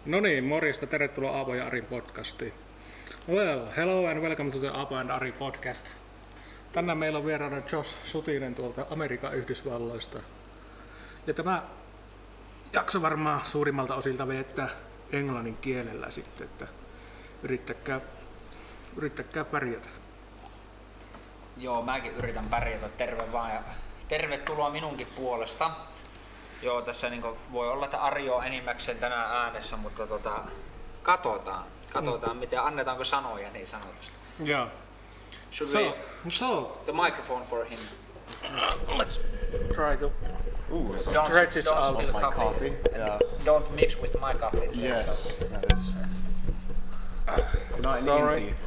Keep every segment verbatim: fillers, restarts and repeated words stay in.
No niin, morjesta, tervetuloa Aapo ja Arin podcastiin. Well, hello and welcome to the Aapo and Ari podcast. Tänään meillä on vieraana Josh Sutinen tuolta Amerikan Yhdysvalloista. Ja tämä jakso varmaan suurimmalta osilta veettää englannin kielellä sitten, että yrittäkää, yrittäkää pärjätä. Joo, mäkin yritän pärjätä, terve vaan ja tervetuloa minunkin puolesta. Joo, tässä niin voi olla, että Ari on enimmäkseen tänään äänessä, mutta tota, katsotaan, katsotaan mm. miten, annetaanko sanoja niin sanotusti. Yeah. Should so, we, so, the microphone for him. Let's try to Ooh, so Don't- stretch it don't out. spill my coffee. coffee. Yeah. Don't mix with my coffee. please. Yes, that is. Not in Sorry. India.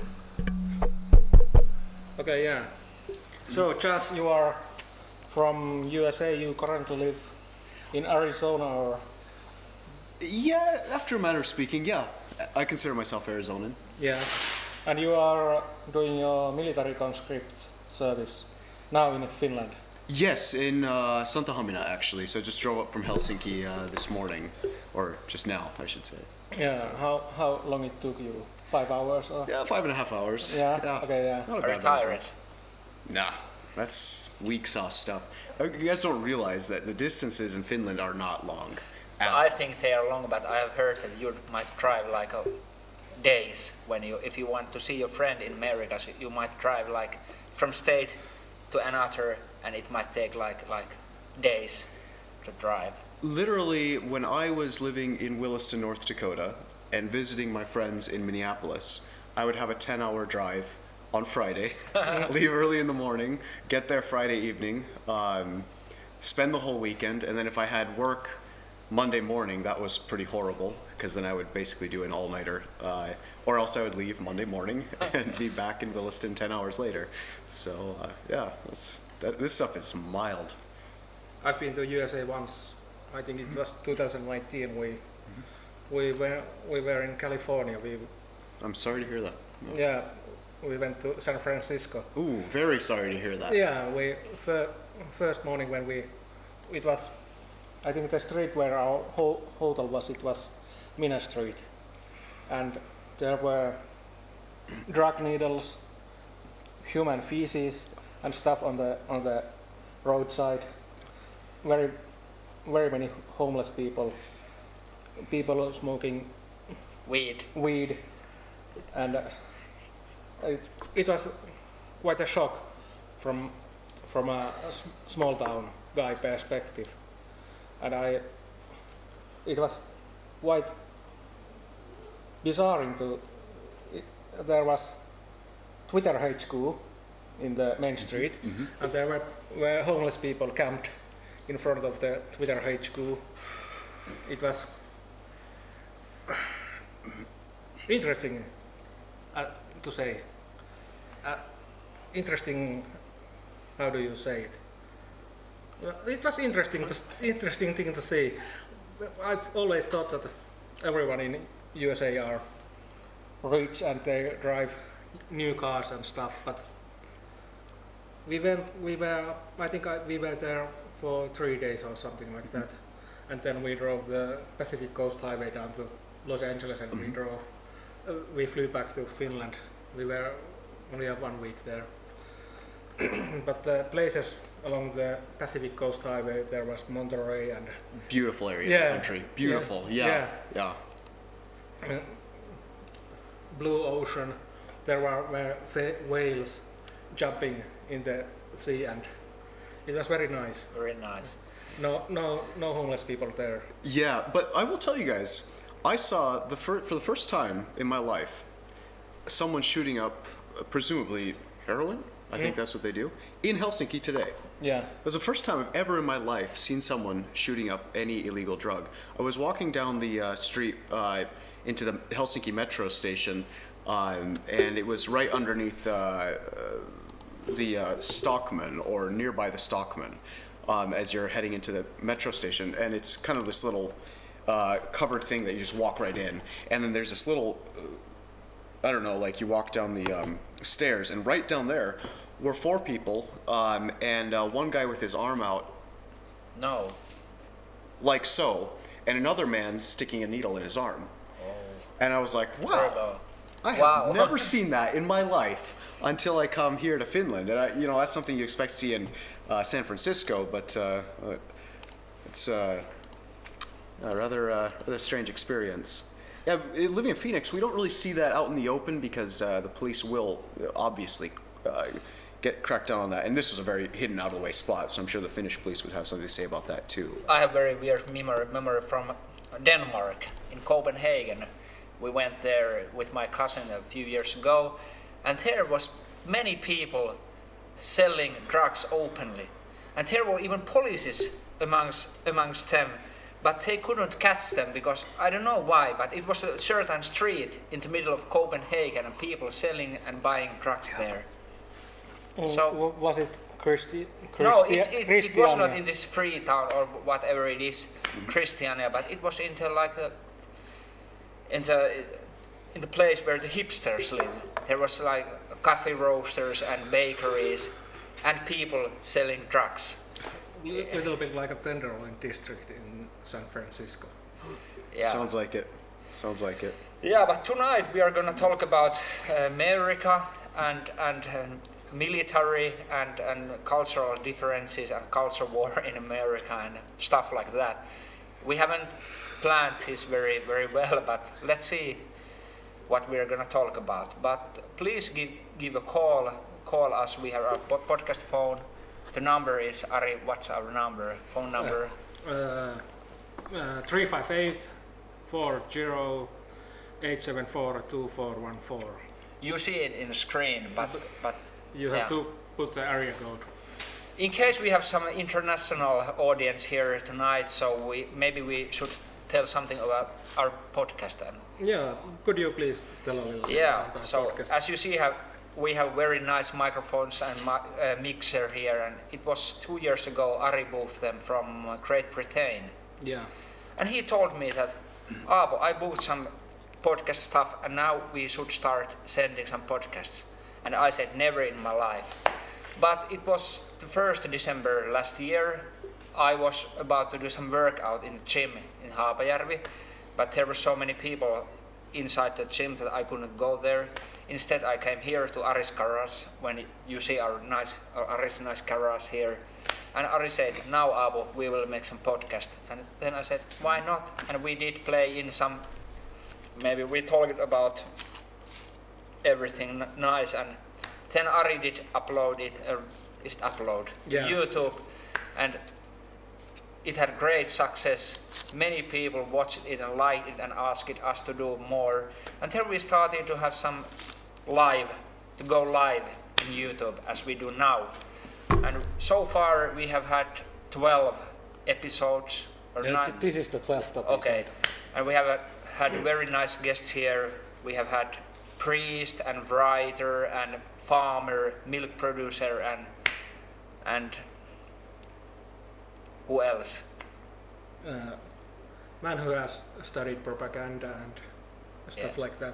Okay, yeah. So, Josh, you are from U S A. You currently live in Arizona, or Yeah, after a matter of speaking, yeah. I consider myself Arizonan. yeah, and you are doing your military conscript service now in Finland. Yes, in uh, Santa Hamina actually. So just drove up from Helsinki uh, this morning, or just now, I should say. Yeah. How how long it took you? Five hours? Or? Yeah, five and a half hours. Yeah. Okay. Yeah. Not a Are you bad long tired? drive. Nah, that's weak sauce stuff. Uh, You guys don't realize that the distances in Finland are not long. at I think they are long, but I have heard that you might drive like a days when you, if you want to see your friend in America, so you might drive like from state to another, and it might take like like days to drive. Literally, when I was living in Williston, North Dakota, and visiting my friends in Minneapolis, I would have a ten-hour drive on Friday, leave early in the morning, get there Friday evening, um, spend the whole weekend, and then if I had work Monday morning, that was pretty horrible, because then I would basically do an all-nighter, uh, or else I would leave Monday morning and be back in Williston ten hours later. So, uh, yeah, that's, that, this stuff is mild. I've been to U S A once. I think it was two thousand nineteen. We we were we were in California. We I'm sorry to hear that. yeah we went to San Francisco. Ooh, very sorry to hear that. Yeah, we fir- first morning when we it was I think the street where our ho- hotel was, it was Mina Street, and there were drug needles, human feces, and stuff on the on the roadside. Very very many homeless people, people smoking Weed. weed, and uh, it, it was quite a shock from from a s- small town guy perspective, and I it was quite bizarre to it, there was Twitter H Q in the main street, and there were, were homeless people camped in front of the Twitter H Q. It was interesting uh, to say. Uh, interesting. How do you say it? Well, it was interesting. To, interesting thing to see. I've always thought that everyone in U S A are rich and they drive new cars and stuff, but we went. We were. I think I, we were there for three days or something like that, and then we drove the Pacific Coast Highway down to Los Angeles, and we drove. Uh, we flew back to Finland. We were only have one week there, but the places along the Pacific Coast Highway, there was Monterey and Beautiful area Yeah. of the country. Beautiful. Yeah. Yeah. Yeah. uh, blue ocean. There were, were fa- whales jumping in the sea, and it was very nice. Very nice. No, no, no homeless people there. Yeah, but I will tell you guys, I saw the fir- for the first time in my life someone shooting up, uh, presumably heroin. I think that's what they do in Helsinki today. Yeah. It was the first time I've ever in my life seen someone shooting up any illegal drug. I was walking down the uh, street uh, into the Helsinki metro station, um, and it was right underneath uh, uh, the uh, Stockman, or nearby the Stockman, um, as you're heading into the metro station. And it's kind of this little uh, covered thing that you just walk right in. And then there's this little, uh, I don't know, like you walk down the um, stairs, and right down there were four people, um, and uh, one guy with his arm out, No. like so, and another man sticking a needle in his arm. And I was like, wow, Turbo. I have Wow. never seen that in my life until I come here to Finland. And I, you know, that's something you expect to see in uh, San Francisco, but uh, it's uh, a rather, uh, rather strange experience. Yeah, living in Phoenix, we don't really see that out in the open because uh, the police will obviously uh, get cracked down on that. And this was a very hidden, out of the way spot, so I'm sure the Finnish police would have something to say about that too. I have very weird memory, memory from Denmark, in Copenhagen. We went there with my cousin a few years ago, and there was many people selling drugs openly. And there were even policies amongst, amongst them, but they couldn't catch them because I don't know why, but it was a certain street in the middle of Copenhagen and people selling and buying drugs there. Mm, So- w- was it Christi- No, Christi- it, it, it was Christiania? not in this free town or whatever it is, Christiania, but it was in the like the in the in the place where the hipsters live. There was like coffee roasters and bakeries and people selling drugs. A little bit like a Tenderloin district in San Francisco. Yeah. Sounds like it. Sounds like it. Yeah, but tonight we are gonna talk about uh, America and and um, military and and cultural differences and culture war in America and stuff like that. We haven't planned this very very well, but let's see what we are gonna talk about. But please give give a call call us. We have our po- podcast phone. The number is Ari. What's our number? Phone number? Uh, uh, three five eight, four zero, eight seven four, two four one four. You see it in the screen, but but You have yeah. to put the area code. In case we have some international audience here tonight, so we maybe we should tell something about our podcast then. Yeah, could you please tell a little bit Yeah, about the so podcast? as you see, have we have very nice microphones and mi- uh, mixer here, and it was two years ago Ari bought them from uh, Great Britain, Yeah. and he told me that, Aapo, I bought some podcast stuff, and now we should start sending some podcasts. And I said, never in my life. But it was the first of December last year. I was about to do some workout in the gym in Haapajärvi, but there were so many people inside the gym that I couldn't go there. Instead, I came here to Ari's garage, when you see our nice, our Ari's nice garage here. And Ari said, now Aapo, we will make some podcast. And then I said, why not? And we did play in some, maybe we talked about everything n- nice, and then Ari did upload it, uh, is it upload Yeah. YouTube, and it had great success. Many people watched it and liked it and asked us to do more. And then we started to have some live, to go live in YouTube as we do now. And so far we have had twelve episodes or Yeah, nine. th- this is the twelfth episode. Okay, and we have uh, had very nice guests here. We have had priest and writer and farmer, milk producer, and and who else? Uh, man who has studied propaganda and stuff Yeah. like that.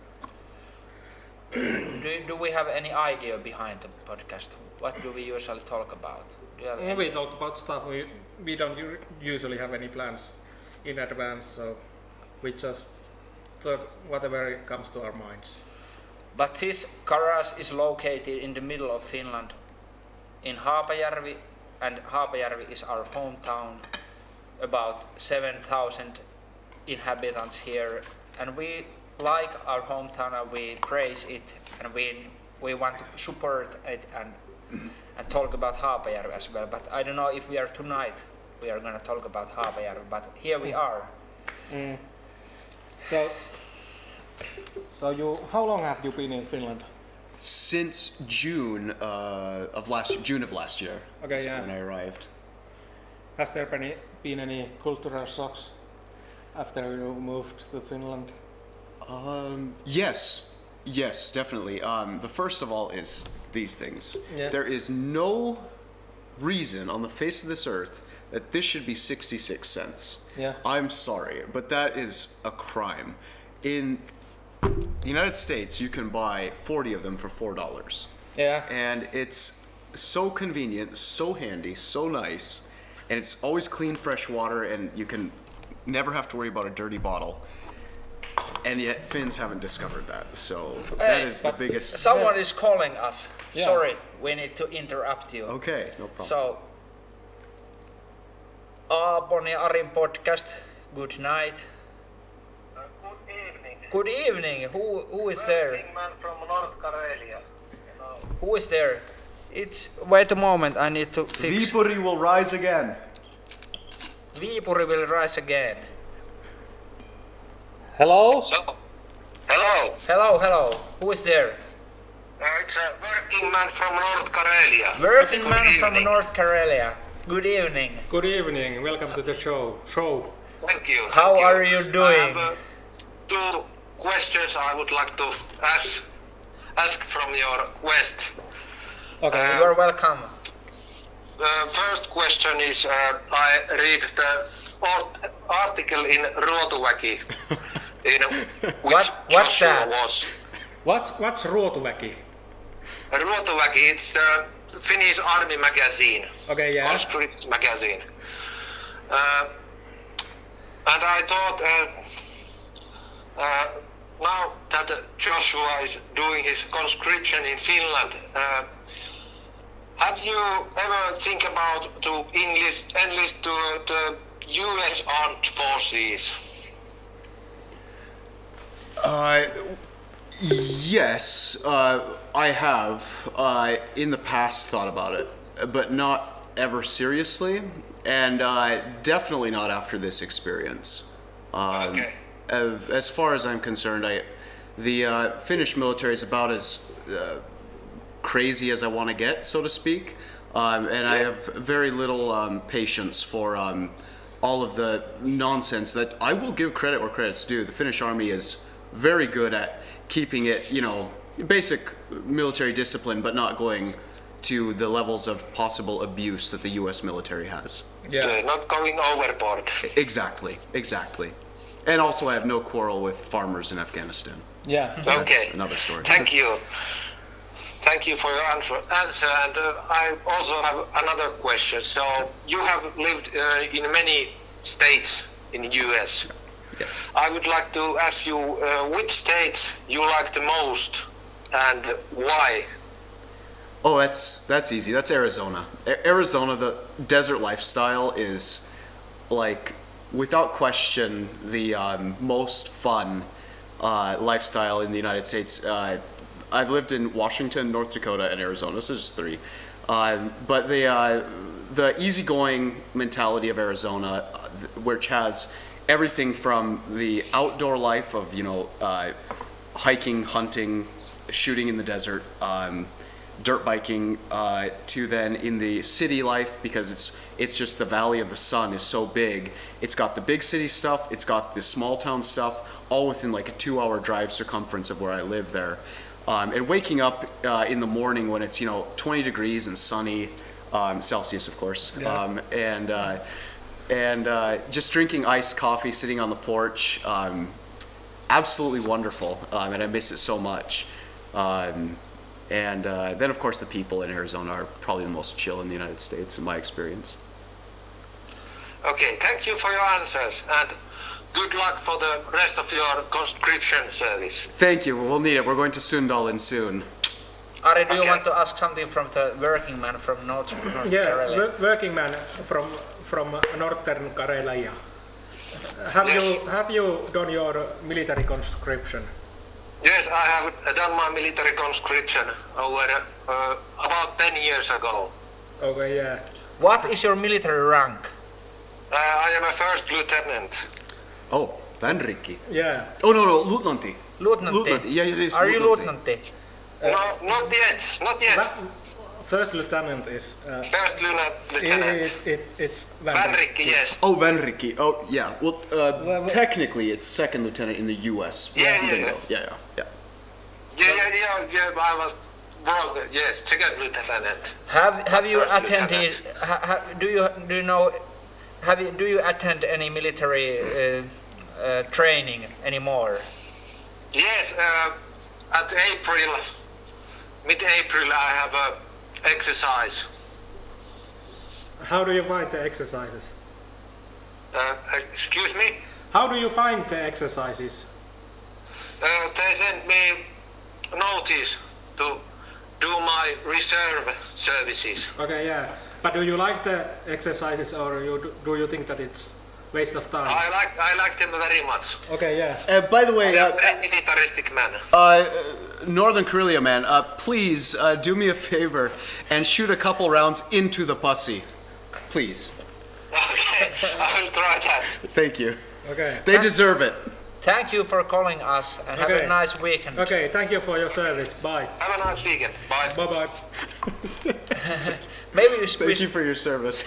Do, do we have any idea behind the podcast? What do we usually talk about? Do you have When any- we talk about stuff, we, we don't u- usually have any plans in advance, so we just talk whatever comes to our minds. But this garage is located in the middle of Finland, in Haapajärvi, and Haapajärvi is our hometown. About seven thousand inhabitants here, and we like our hometown and we praise it, and we we want to support it and and talk about Haapajärvi as well. But I don't know if we are tonight we are going to talk about Haapajärvi, but here we are. Mm. So, so you, how long have you been in Finland? Since June uh, of last June of last year. Okay, is yeah. when I arrived. Has there been, been any cultural shocks after you moved to Finland? Um, yes, yes, definitely. Um, the first of all is these things. Yeah. There is no reason on the face of this earth that this should be sixty-six cents. Yeah. I'm sorry, but that is a crime. In the United States, you can buy forty of them for four dollars. Yeah. And it's so convenient, so handy, so nice, and it's always clean, fresh water, and you can never have to worry about a dirty bottle. and yet Finns haven't discovered that. So that Hey, is the but biggest. Someone is calling us. Yeah. Sorry, we need to interrupt you. Okay, no problem. So, Aapon ja Arin podcast. Good night. Uh, good evening. Good evening. Who who is there? Working man from North Karelia. You know. Who is there? It's wait a moment. I need to fix. Viipuri will rise again. Viipuri will rise again. Hello? So, hello. Hello, hello. Who is there? Uh, it's a working man from North Karelia. Working Good man from evening. North Karelia. Good evening. Good evening. Welcome to the show. Show. Thank you. How thank are you doing? I have uh, two questions I would like to ask, ask from your quest. Okay. Uh, You are welcome. The first question is, uh, I read the art- article in Ruotuväki, in which What- what's Joshua that? was. What's what's Ruotuväki? Ruotuväki, it's the Finnish army magazine, Okay, yeah. conscripts magazine. Uh, and I thought, uh, uh, now that Joshua is doing his conscription in Finland, uh, have you ever think about to enlist, enlist to the U S Armed Forces? Uh, yes, uh, I have uh, in the past thought about it, but not ever seriously, and uh, definitely not after this experience. Um, Okay. as, as far as I'm concerned, I the uh, Finnish military is about as uh, crazy as I want to get, so to speak, um, and I have very little um, patience for um, all of the nonsense that I will give credit where credit's due. The Finnish army is very good at keeping it, you know, basic military discipline, but not going to the levels of possible abuse that the U S military has. Yeah. Uh, not going overboard. Exactly, exactly. And also, I have no quarrel with farmers in Afghanistan. Yeah. That's Okay. another story. Thank you. Thank you for your answer. answer. And uh, I also have another question. So you have lived uh, in many states in the U S. Yes. I would like to ask you uh, which states you like the most and why. Oh, that's that's easy. That's Arizona. A- Arizona, the desert lifestyle is like, without question, the um, most fun uh, lifestyle in the United States. Uh, I've lived in Washington, North Dakota, and Arizona, so just three. Um, but the uh, the easygoing mentality of Arizona, uh, which has everything from the outdoor life of you know uh, hiking, hunting, shooting in the desert, um, dirt biking, uh, to then in the city life, because it's it's just the Valley of the Sun is so big. It's got the big city stuff, it's got the small town stuff, all within like a two-hour drive circumference of where I live there. Um, and waking up uh, in the morning when it's you know twenty degrees and sunny, um, Celsius of course, Yeah. um, and uh, and uh, just drinking iced coffee, sitting on the porch, um, absolutely wonderful, um, and I miss it so much. Um, and uh, then of course the people in Arizona are probably the most chill in the United States in my experience. Okay, thank you for your answers and good luck for the rest of your conscription service. Thank you. We'll need it. We're going to Sundalin soon. Ari, do you Okay. want to ask something from the working man from North, North Yeah, Karelia? wo- working man from from Northern Karelia. Have Yes. you have you done your military conscription? Yes, I have done my military conscription over uh, about ten years ago. Okay, yeah. What is your military rank? Uh, I am a first lieutenant. Oh, Vanrikki. Yeah. Oh no no, Luutnantti. Lieutenant. Luutnantti. Yeah, yes, yes. Are you Luutnantti. lieutenant? No, not yet, not yet. Va- First lieutenant is. Uh, First lieutenant. lieutenant. it, it, it's Van Vanrikki, yes. Oh, Vanrikki. Oh, yeah. Well, uh, Well, well- technically, it's second lieutenant in the U S. Yeah, yeah, Bingo. yeah. yeah, yeah, yeah. Yeah, yeah, yeah, yeah, I was wrong. Yes, second lieutenant. Have Have you First attended? lieutenant. Ha, ha, do you do you know? Have you do you attend any military uh, uh, training anymore? Yes, uh, at April, mid-April, I have a exercise. How do you find the exercises? Uh, excuse me? How do you find the exercises? uh, they sent me notice to do my reserve services. Okay, yeah. But do you like the exercises, or you do, do you think that it's waste of time? I like I like them very much. Okay, yeah. Uh, by the I way, am uh, a very militaristic man. uh, Northern Karelia man, uh, please uh, do me a favor and shoot a couple rounds into the pussy, please. Okay, I will try that. Thank you. Okay. They deserve it. Thank you for calling us and have Okay. a nice weekend. Okay, thank you for your service. Bye. Have a nice weekend. Bye. Bye bye. Maybe we, we Thank you for your service.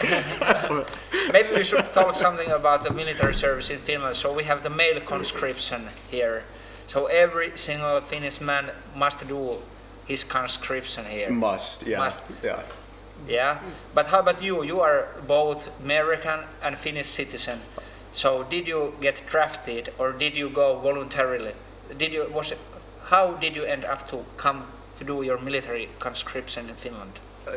maybe we should talk something about the military service in Finland. So we have the male conscription here. So every single Finnish man must do his conscription here. Must, yeah, Must. yeah. Yeah. But how about you? You are both American and Finnish citizen. So did you get drafted or did you go voluntarily? Did you was it, how did you end up to come to do your military conscription in Finland?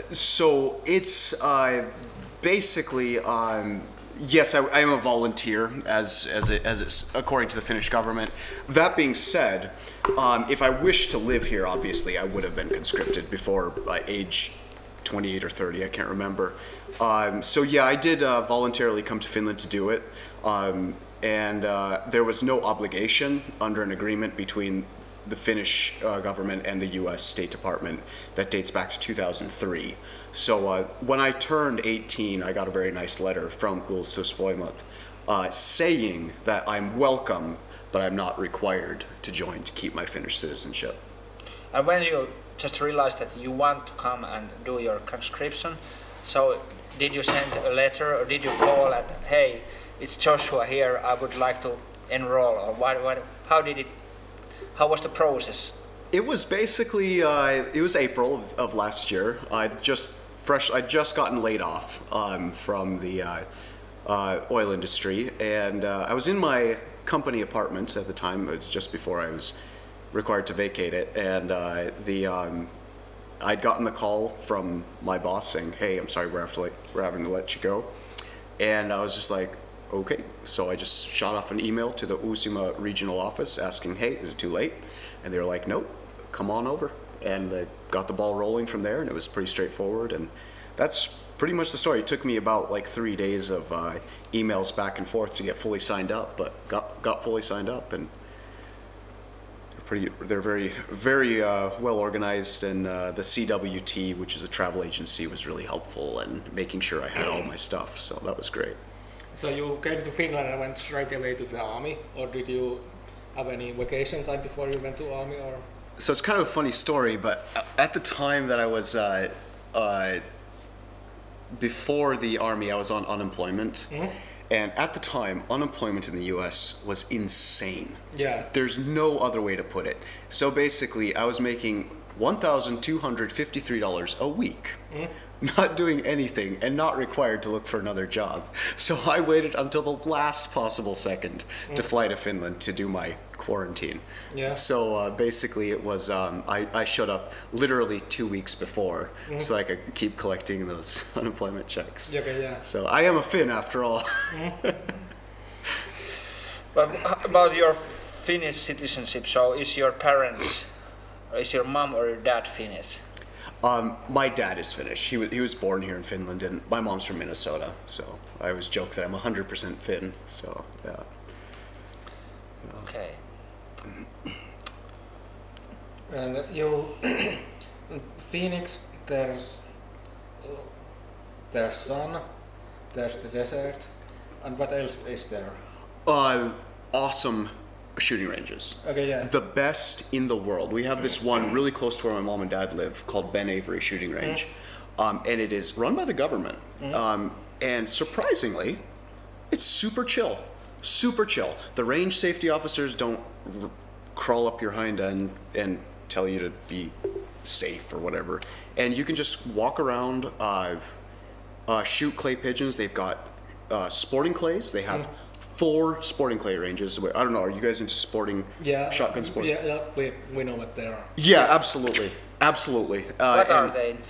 So it's uh, basically, um, yes, I, I am a volunteer as as it, as it's according to the Finnish government. That being said, um, if I wished to live here, obviously I would have been conscripted before uh, age twenty-eight or thirty. I can't remember. Um, so yeah, I did uh, voluntarily come to Finland to do it, um, and uh, there was no obligation under an agreement between the Finnish uh, government and the U S State Department that dates back to two thousand three. So uh, when I turned eighteen, I got a very nice letter from Puolustusvoimat uh, saying that I'm welcome, but I'm not required to join to keep my Finnish citizenship. And when you just realized that you want to come and do your conscription, so did you send a letter or did you call and hey, it's Joshua here, I would like to enroll, or what, what, how did it, how was the process? It was basically, uh, it was April of, of last year. I just fresh, I just gotten laid off um, from the uh, uh, oil industry, and uh, I was in my company apartment at the time. It was just before I was required to vacate it, and uh, the um, I'd gotten the call from my boss saying, "Hey, I'm sorry, we're, have to, like, we're having to let you go," and I was just like, "Okay." So I just shot off an email to the Uusimaa regional office asking, "Hey, is it too late?" And they were like, "Nope, come on over." And they got the ball rolling from there, and it was pretty straightforward. And that's pretty much the story. It took me about like three days of uh, emails back and forth to get fully signed up, but got got fully signed up, and they're pretty. They're very very uh, well organized, and uh, the C W T, which is a travel agency, was really helpful in making sure I had all my stuff. So that was great. So you came to Finland and went straight away to the army, or did you have any vacation time before you went to army, or? So it's kind of a funny story, but at the time that I was, uh, uh, before the army, I was on unemployment. Mm-hmm. And at the time, unemployment in the U S was insane. Yeah. There's no other way to put it. So basically, I was making one thousand two hundred fifty-three dollars a week, mm-hmm. not doing anything and not required to look for another job. So I waited until the last possible second mm-hmm. to fly to Finland to do my quarantine. Yeah. So uh, basically it was, um, I, I showed up literally two weeks before mm-hmm. so I could keep collecting those unemployment checks. Okay, yeah. So I am a Finn after all. But about your Finnish citizenship, so is your parents, or is your mom or your dad Finnish? Um, my dad is Finnish. He was, he was born here in Finland, and my mom's from Minnesota. So I always joke that I'm one hundred percent Finn. So yeah. yeah. Okay. And you, Phoenix, there's there's sun, there's the desert, and what else is there? Uh, awesome shooting ranges. Okay, yeah. The best in the world. We have this one really close to where my mom and dad live called Ben Avery Shooting Range. Mm. Um, and it is run by the government. Mm. Um, and surprisingly, it's super chill. Super chill. The range safety officers don't r- crawl up your hind end and tell you to be safe or whatever. And you can just walk around, uh, uh, shoot clay pigeons. They've got uh, sporting clays. They have mm. four sporting clay ranges. I don't know, are you guys into sporting, yeah, shotgun sporting? Yeah, yeah, we, we know what they are. Yeah, absolutely. Absolutely. Uh, what are they in Finnish?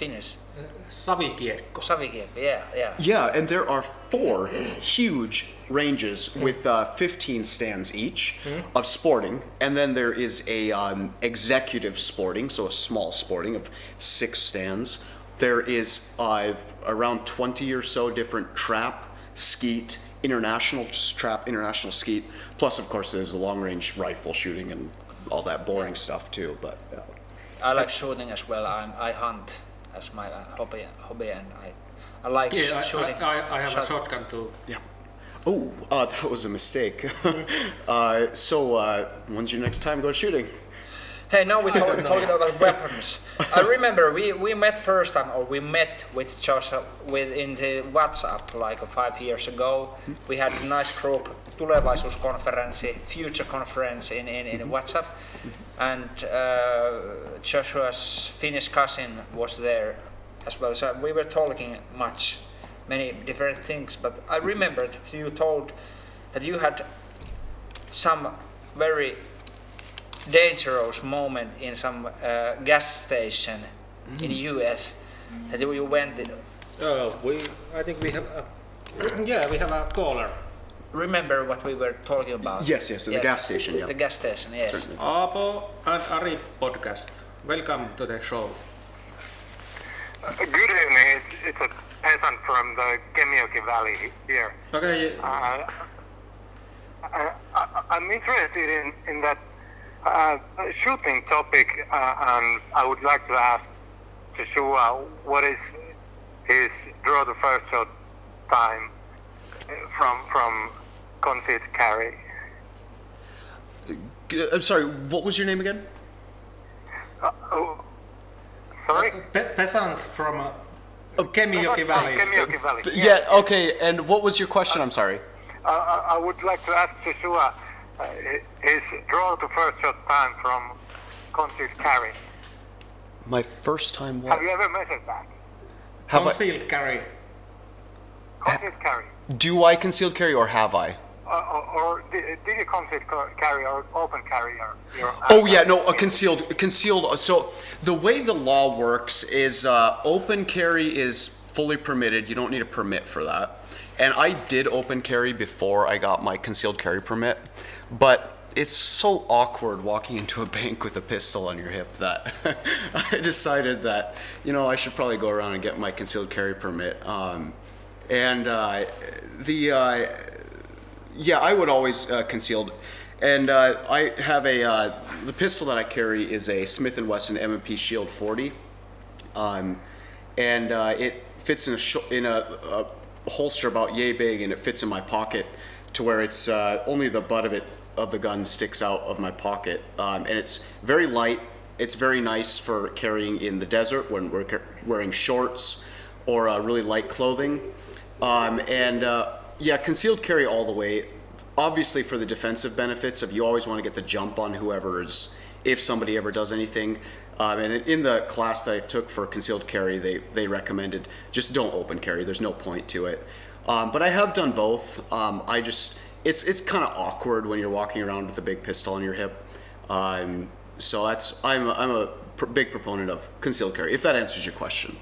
Savikiekko. Savikiekko, yeah, yeah. Yeah, and there are four huge ranges with uh, fifteen stands each of sporting, and then there is a um, executive sporting, so a small sporting of six stands. There is uh, around twenty or so different trap, skeet, international trap, international skeet. Plus, of course, there's the long-range rifle shooting and all that boring stuff too. But yeah. I like shooting as well. I'm, I hunt as my uh, hobby, hobby, and I, I like Yeah, I, sh- shooting. I, I, I have shot- a shotgun too. Yeah. Oh, uh, that was a mistake. uh, so, uh, when's your next time go shooting? Hey, now we're talking, talking about weapons. I remember we, we met first time, or we met with Josh with in the WhatsApp like five years ago. We had a nice group, tulevaisuuskonferenssi, future conference in, in, in WhatsApp. And uh, Joshua's Finnish cousin was there as well. So we were talking much, many different things. But I remember that you told that you had some very dangerous moment in some uh, gas station mm. in the U S that you went in. Oh, we. I think we have. A, yeah, we have a caller. Remember what we were talking about? Yes, yes, the gas station, yeah. The gas station, yes. Certainly. Aapo and Ari podcast. Welcome to the show. Uh, good evening. It's, it's a peasant from the Kemijoki Valley here. Okay. Uh, I, I, I'm interested in, in that uh, shooting topic, uh, and I would like to ask Joshua what is his draw the first shot time from from concealed carry. I'm sorry, what was your name again? Uh, oh, sorry? Pe- peasant from uh, Kemijoki Valley. Kemijoki Valley. Yeah, okay, and what was your question? I'm sorry. Uh, I I would like to ask Joshua uh, his draw to first shot time from concealed carry. My first time what? Have you ever measured that? Have I, Concealed carry. Concealed carry. do I concealed carry or have I? Uh, or, or did, did you concealed ca- carry or open carry your, your Oh yeah, no, a concealed, concealed. So the way the law works is uh, open carry is fully permitted. You don't need a permit for that. And I did open carry before I got my concealed carry permit, but it's so awkward walking into a bank with a pistol on your hip that I decided that, you know, I should probably go around and get my concealed carry permit. Um, and uh, the, uh, yeah, I would always uh, concealed. And uh, I have a, uh, the pistol that I carry is a Smith and Wesson M and P Shield forty. Um, and uh, it fits in a, sh- in a, a holster about yay big, and it fits in my pocket to where it's uh, only the butt of it of the gun sticks out of my pocket, um, and it's very light. It's very nice for carrying in the desert when we're ca- wearing shorts or uh, really light clothing. Um, and uh, yeah, concealed carry all the way. Obviously, for the defensive benefits of you always want to get the jump on whoever is, if somebody ever does anything. Um, and in the class that I took for concealed carry, they they recommended just don't open carry. There's no point to it. Um, but I have done both. Um, I just It's it's kind of awkward when you're walking around with a big pistol on your hip, um, so that's I'm a, I'm a pr- big proponent of concealed carry. If that answers your question.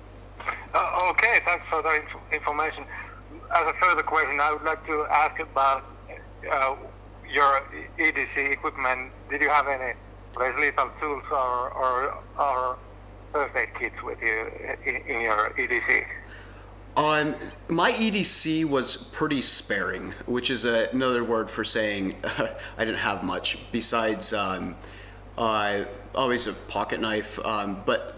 Uh, okay, thanks for the inf- information. As a further question, I would like to ask about uh, your E D C equipment. Did you have any less lethal tools or or, or first aid kits with you in, in your E D C? Um, my E D C was pretty sparing, which is a, another word for saying I didn't have much besides um, uh, always a pocket knife. Um, but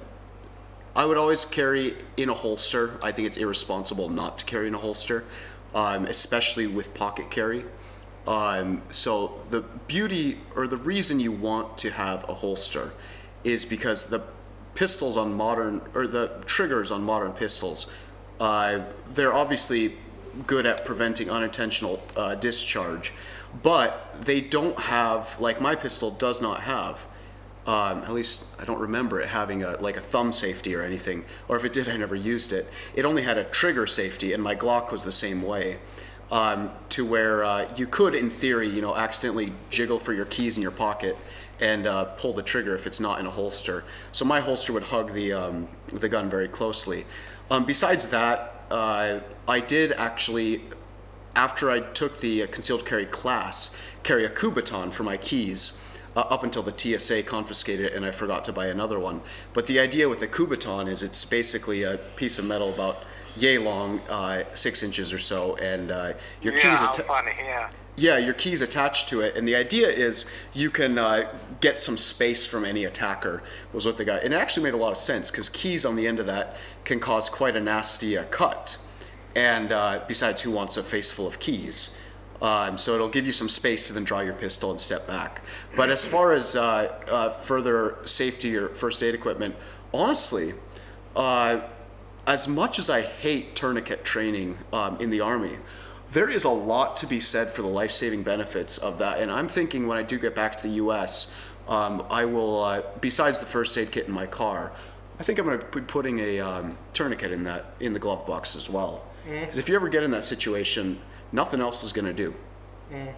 I would always carry in a holster. I think it's irresponsible not to carry in a holster, um, especially with pocket carry. Um, so the beauty or the reason you want to have a holster is because the pistols on modern or the triggers on modern pistols. Uh, they're obviously good at preventing unintentional uh, discharge, but they don't have, like my pistol does not have, um, at least I don't remember it having a like a thumb safety or anything, or if it did, I never used it. It only had a trigger safety, and my Glock was the same way. um, to where uh, you could, in theory, you know, accidentally jiggle for your keys in your pocket and uh, pull the trigger if it's not in a holster. So my holster would hug the um, the gun very closely. Um, besides that, uh, I did actually, after I took the concealed carry class, carry a Kubotan for my keys. Uh, up until the T S A confiscated it and I forgot to buy another one. But the idea with a Kubotan is it's basically a piece of metal about yay long, uh, six inches or so, and uh, your Yeah, keys. how atta- funny, yeah. yeah, your keys attached to it, and the idea is you can uh, get some space from any attacker. Was what they got, and it actually made a lot of sense because keys on the end of that can cause quite a nasty uh, cut. And uh, besides, who wants a face full of keys? Um, so it'll give you some space to then draw your pistol and step back. But as far as uh, uh, further safety or first aid equipment, honestly, uh, as much as I hate tourniquet training um, in the Army, there is a lot to be said for the life-saving benefits of that. And I'm thinking when I do get back to the U S, um, I will, uh, besides the first aid kit in my car, I think I'm going to be putting a um, tourniquet in that in the glove box as well. Because if you ever get in that situation, nothing else is going to do. Mm.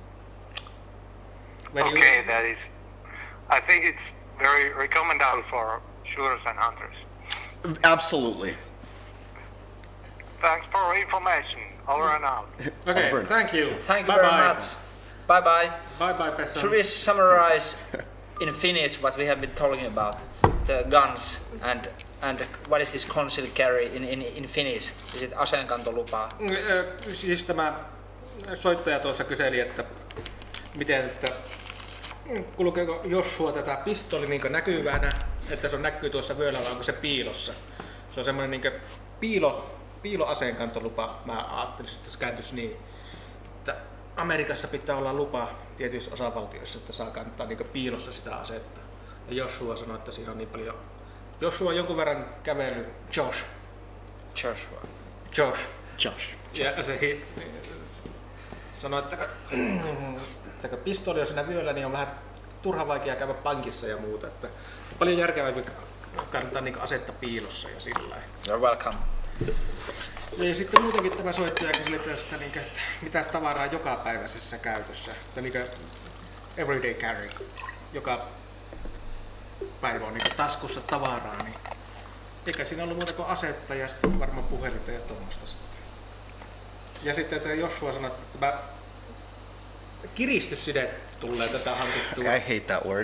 When you- Okay, that is. I think it's very recommendable for shooters and hunters. Absolutely. Thanks for information. Over and out. Okay, Over. thank you. Thank you Bye very bye. much. Bye bye. Bye bye, Pesson. Should we summarize in Finnish what we have been talking about? The guns and and what is this concealed carry in, in, in Finnish? Is it aseenkantolupa? Mm, ö, Siis tämä soittaja tuossa kyseli, että miten, että kulkeeko Joshua tätä pistoli niin näkyvänä, että se on näkyy tuossa vyöllä vai onko se piilossa? Se on semmoinen niin piilo, piiloaseenkantolupa, mä ajattelin, että se kääntyisi niin, että Amerikassa pitää olla lupa tietyissä osavaltioissa, että saa kantaa niin piilossa sitä asetta. Ja Joshua sanoi, että siinä on niin paljon. Joshua on jonkun verran kävellyt. Josh. Joshua. Josh. Josh. Ja se hi, sanoi, että, että kun pistoli on siinä vyöllä, niin on vähän turha vaikea käydä pankissa ja muuta. Että paljon järkevämpi kannattaa niin asetta piilossa ja sillä lailla. You're welcome. Ja sitten muutenkin tämä soittaja kyseli tästä, niin, että mitäs tavaraa jokapäiväisessä käytössä, että niin everyday carry, joka päivä on niin taskussa tavaraa, niin eikä siinä ollut muuta kuin asetta ja sitten varmaan puhelinta ja tuommoista sitten. Ja sitten että Joshua sanoi, että tämä kiristysside tulee tätä hankittua. I hate that word.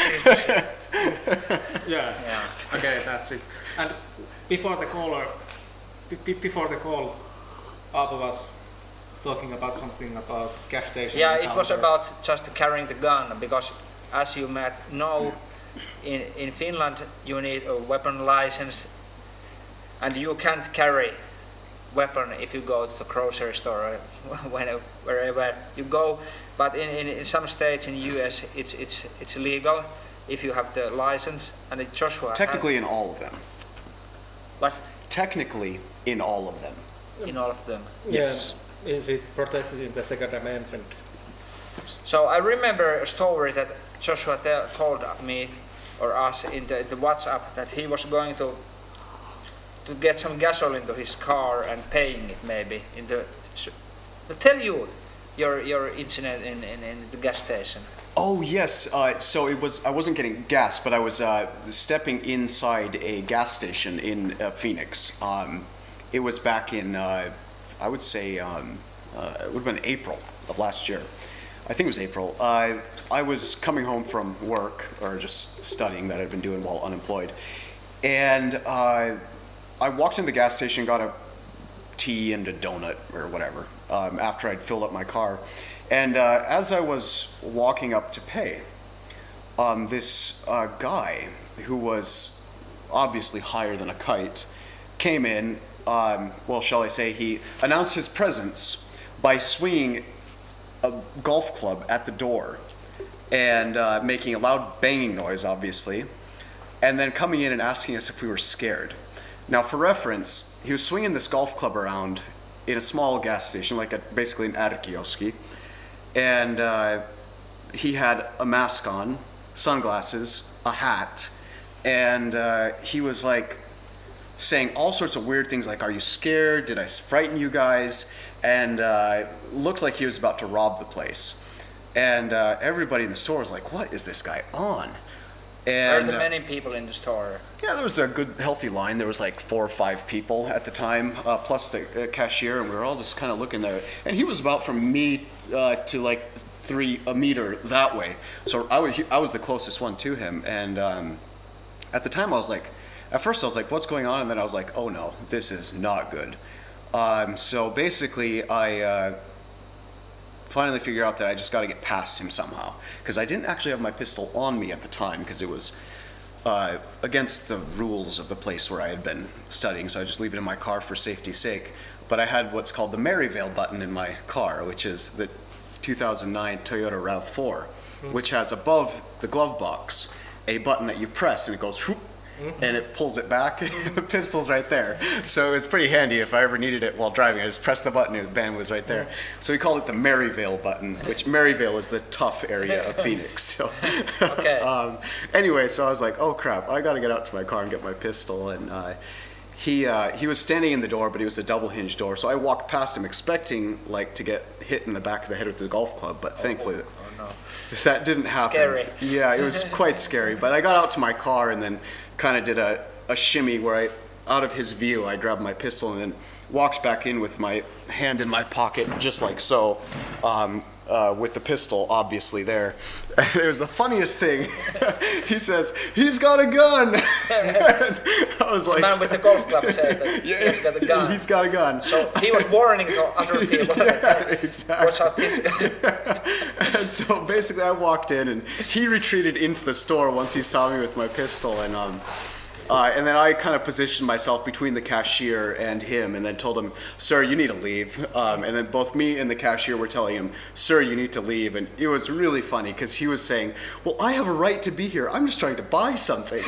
Yeah. Yeah. Okay, that's it. And before the caller, be- before the call, Aapo was talking about something about gas station. Yeah, it was encounter. about just carrying the gun because, as you might know, in in Finland you need a weapon license, and you can't carry weapon if you go to the grocery store or whenever, wherever you go. But in, in, in some states in U S it's it's it's legal if you have the license. And it Joshua Technically in all of them. had, what Technically in all of them. in all of them. Yes. Yeah. Is it protected in the Second Amendment? So I remember a story that Joshua te- told me or us in the, the WhatsApp that he was going to to get some gasoline to his car and paying it maybe in the. To tell you your your incident in, in, in the gas station. Oh yes. Uh, so it was. I wasn't getting gas, but I was uh, stepping inside a gas station in uh, Phoenix. Um, it was back in. Uh, I would say um, uh, it would have been April of last year. I think it was April. Uh, I was coming home from work or just studying that I'd been doing while unemployed, and uh, I walked into the gas station, got a tea and a donut or whatever um, after I'd filled up my car. And uh, as I was walking up to pay, um, this uh, guy who was obviously higher than a kite came in. Um, well, shall I say, he announced his presence by swinging a golf club at the door and uh, making a loud banging noise, obviously, and then coming in and asking us if we were scared. Now, for reference, he was swinging this golf club around in a small gas station, like a, basically an Arkioski, and uh, he had a mask on, sunglasses, a hat, and uh, he was like saying all sorts of weird things like, "Are you scared? Did I frighten you guys?" and uh, looked like he was about to rob the place. And uh, everybody in the store was like, "What is this guy on?" And Were there many people in the store? yeah, there was a good, healthy line. There was like four or five people at the time, uh, plus the uh, cashier, and we were all just kind of looking there. And he was about from me uh, to like three a meter that way. So I was I was the closest one to him. And um, at the time, I was like, at first I was like, "What's going on?" And then I was like, "Oh no, this is not good." Um, so basically, I. Uh, finally figured out that I just got to get past him somehow, because I didn't actually have my pistol on me at the time because it was uh, against the rules of the place where I had been studying, so I just leave it in my car for safety's sake. But I had what's called the Maryvale button in my car, which is the two thousand nine Toyota RAV four, mm-hmm. which has above the glove box a button that you press and it goes whoop, mm-hmm. and it pulls it back. The pistol's right there. So it was pretty handy if I ever needed it while driving. I just pressed the button and the band was right there. Mm-hmm. So we called it the Maryvale button, which Maryvale is the tough area of Phoenix. So okay. um, anyway, so I was like, oh crap, I got to get out to my car and get my pistol. And uh, he uh, he was standing in the door, but it was a double hinge door. So I walked past him expecting like to get hit in the back of the head with the golf club, but oh, thankfully oh, no. that didn't happen. Scary. Yeah, it was quite scary. But I got out to my car and then kind of did a, a shimmy where I, out of his view, I grabbed my pistol and then walked back in with my hand in my pocket, just like so, um, uh, with the pistol obviously there. And it was the funniest thing. He says, "He's got a gun." And I was the like, man with the golf club said that yeah, he's got a gun. He's got a gun. So he was warning to other people. Yeah, exactly. Watch out, this guy. And so basically I walked in and he retreated into the store once he saw me with my pistol, and um, uh, and then I kind of positioned myself between the cashier and him and then told him, "Sir, you need to leave." Um, and then both me and the cashier were telling him, "Sir, you need to leave." And it was really funny because he was saying, "Well, I have a right to be here. I'm just trying to buy something."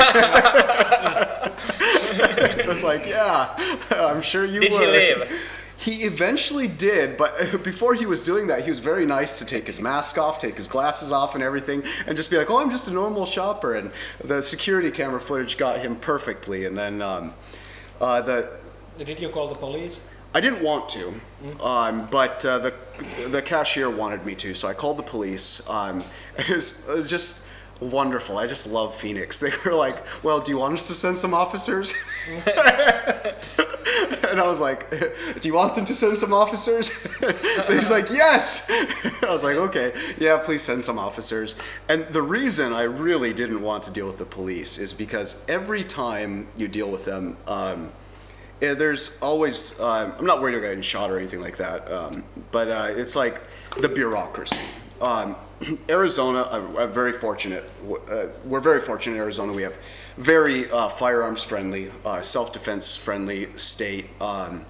It was like, yeah, I'm sure you Did would. he leave? He eventually did, but before he was doing that, he was very nice to take his mask off, take his glasses off and everything, and just be like, "Oh, I'm just a normal shopper." And the security camera footage got him perfectly. And then um, uh, the... Did you call the police? I didn't want to, um, but uh, the the cashier wanted me to, so I called the police. Um, it, was, it was just wonderful. I just love Phoenix. They were like, "Well, do you want us to send some officers?" And I was like, "Do you want them to send some officers?" He's like, "Yes." I was like, "Okay, yeah, please send some officers." And the reason I really didn't want to deal with the police is because every time you deal with them, um, yeah, there's always, um, I'm not worried about getting shot or anything like that, um, but uh, it's like the bureaucracy. Um, Arizona, I'm, I'm very fortunate. Uh, we're very fortunate in Arizona. We have very uh, firearms friendly, uh, self-defense friendly state. Um,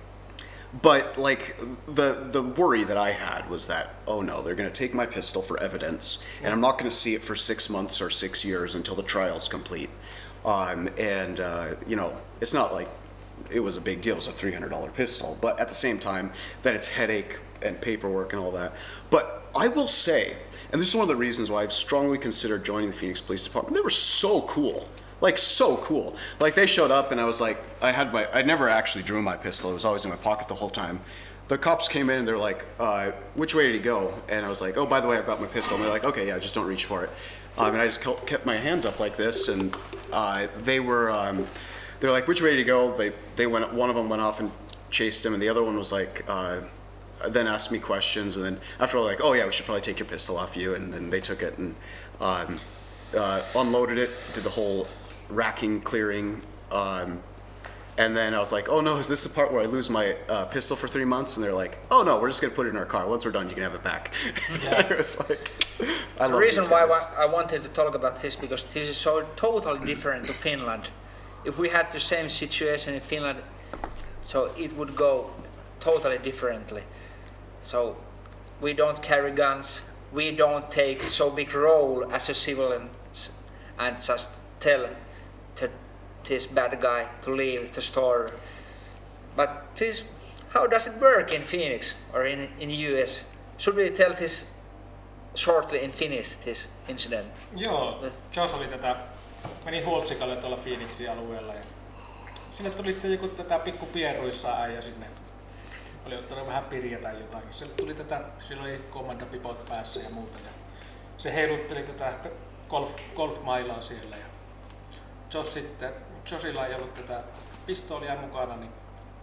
but like the the worry that I had was that, oh no, they're going to take my pistol for evidence, and I'm not going to see it for six months or six years until the trial's complete. Um, and uh, you know, it's not like it was a big deal. It was a three hundred dollar pistol, but at the same time, that it's headache and paperwork and all that. But I will say, and this is one of the reasons why I've strongly considered joining the Phoenix Police Department. They were so cool, like so cool. Like they showed up and I was like, I had my, I never actually drew my pistol. It was always in my pocket the whole time. The cops came in and they're like, uh, "Which way did he go?" And I was like, "Oh, by the way, I've got my pistol." And they're like, "Okay, yeah, just don't reach for it." Um, and I just kept my hands up like this, and uh, they were, um, they're like, "Which way did he go?" They they went. One of them went off and chased him, and the other one was like, uh, then asked me questions, and then after all, like, "Oh yeah, we should probably take your pistol off you." And then they took it and um, uh, unloaded it, did the whole racking, clearing, um, and then I was like, "Oh no, is this the part where I lose my uh, pistol for three months?" And they're like, "Oh no, we're just gonna put it in our car. Once we're done, you can have it back." Yeah. It was like, I the love reason these why guys. I wanted to talk about this because this is so totally different to Finland. If we had the same situation in Finland, so it would go totally differently. So we don't carry guns, we don't take so big role as a civilian and just tell to this bad guy to leave the store. But this, how does it work in Phoenix or in, in the U S? Should we tell this shortly in Finnish, this incident? Joo, Josh oli tätä, meni Hultsikalle tuolla Phoenixin alueella ja sinne tuli sitten joku tätä pikku pieruissaan äijä sinne oli ottanut vähän pirjaa tai jotain. Se tuli tätä, sillä oli kommandopipot päässä ja muuta. Ja se heilutteli tätä golf, golfmailaa siellä. Ja Josh sitten, Joshilla ei ollut tätä pistoolia mukana, niin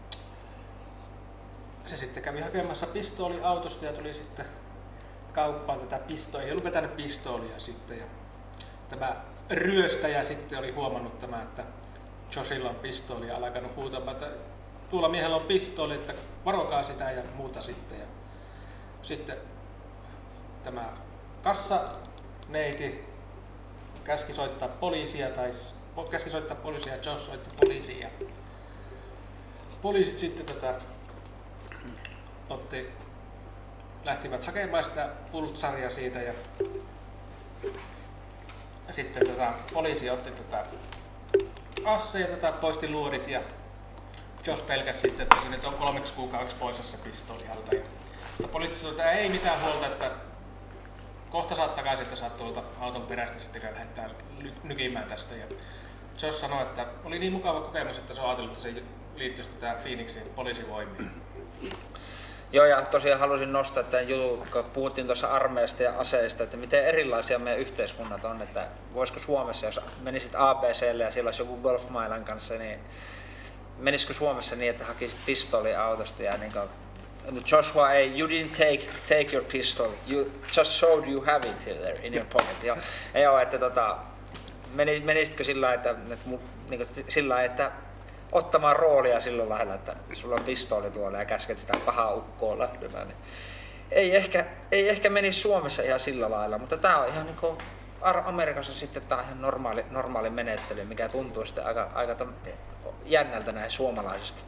se sitten kävi hakemassa pistooli autosta ja tuli sitten kauppaan tätä pistoolia. Ei ollut vetänyt pistoolia sitten. Ja tämä ryöstäjä sitten oli huomannut tämä, että Joshilla on pistooli ja alkanut huutamaan, että tuolla miehellä on pistooli, että varokaa sitä ja muuta sitten. Ja sitten tämä kassaneiti käski soittaa poliisia tai käski soittaa poliisia ja Josh soitti poliisia. Poliisit sitten tätä otti, lähtivät hakemaan sitä pultsaria siitä ja sitten tätä poliisi otti tätä asseja, tätä poisti luodit ja Josh pelkäsi sitten, että se nyt on kolmeksi kuukaudeksi poissa se pistooli alta. Ja poliisi sanoi, että ei mitään huolta, että kohta saat takaisin, että saat tuolta auton perästä sitten lähdetään nykimään tästä. Ja Josh sanoi, että oli niin mukava kokemus, että se on ajatellut, että se liittyisi tätä Phoenixin poliisivoimiin. Joo, ja tosiaan halusin nostaa tämän jutun, kun puhuttiin tuossa armeijasta ja aseista, että miten erilaisia meidän yhteiskunnat on, että voisiko Suomessa, jos menisit A B C:lle ja siellä olisi joku golfmailan kanssa, niin menisikö Suomessa niin, että hakisit pistooli autosta ja niin kuin, Joshua, ei, you didn't take, take your pistol, you just showed you have it there in your pocket. Ja, ja joo, että tota, menisitkö sillä että, että, niin kuin, sillä että ottamaan roolia sillä lailla, että sulla on pistooli tuolla ja käsket sitä pahaa ukkoa lähtemään. Niin ei, ehkä, ei ehkä menisi Suomessa ihan sillä lailla, mutta tää on ihan niin kuin Amerikassa sitten tää on ihan normaali, normaali menettely, mikä tuntuu sitten aika, aika jännältä näin suomalaisesta.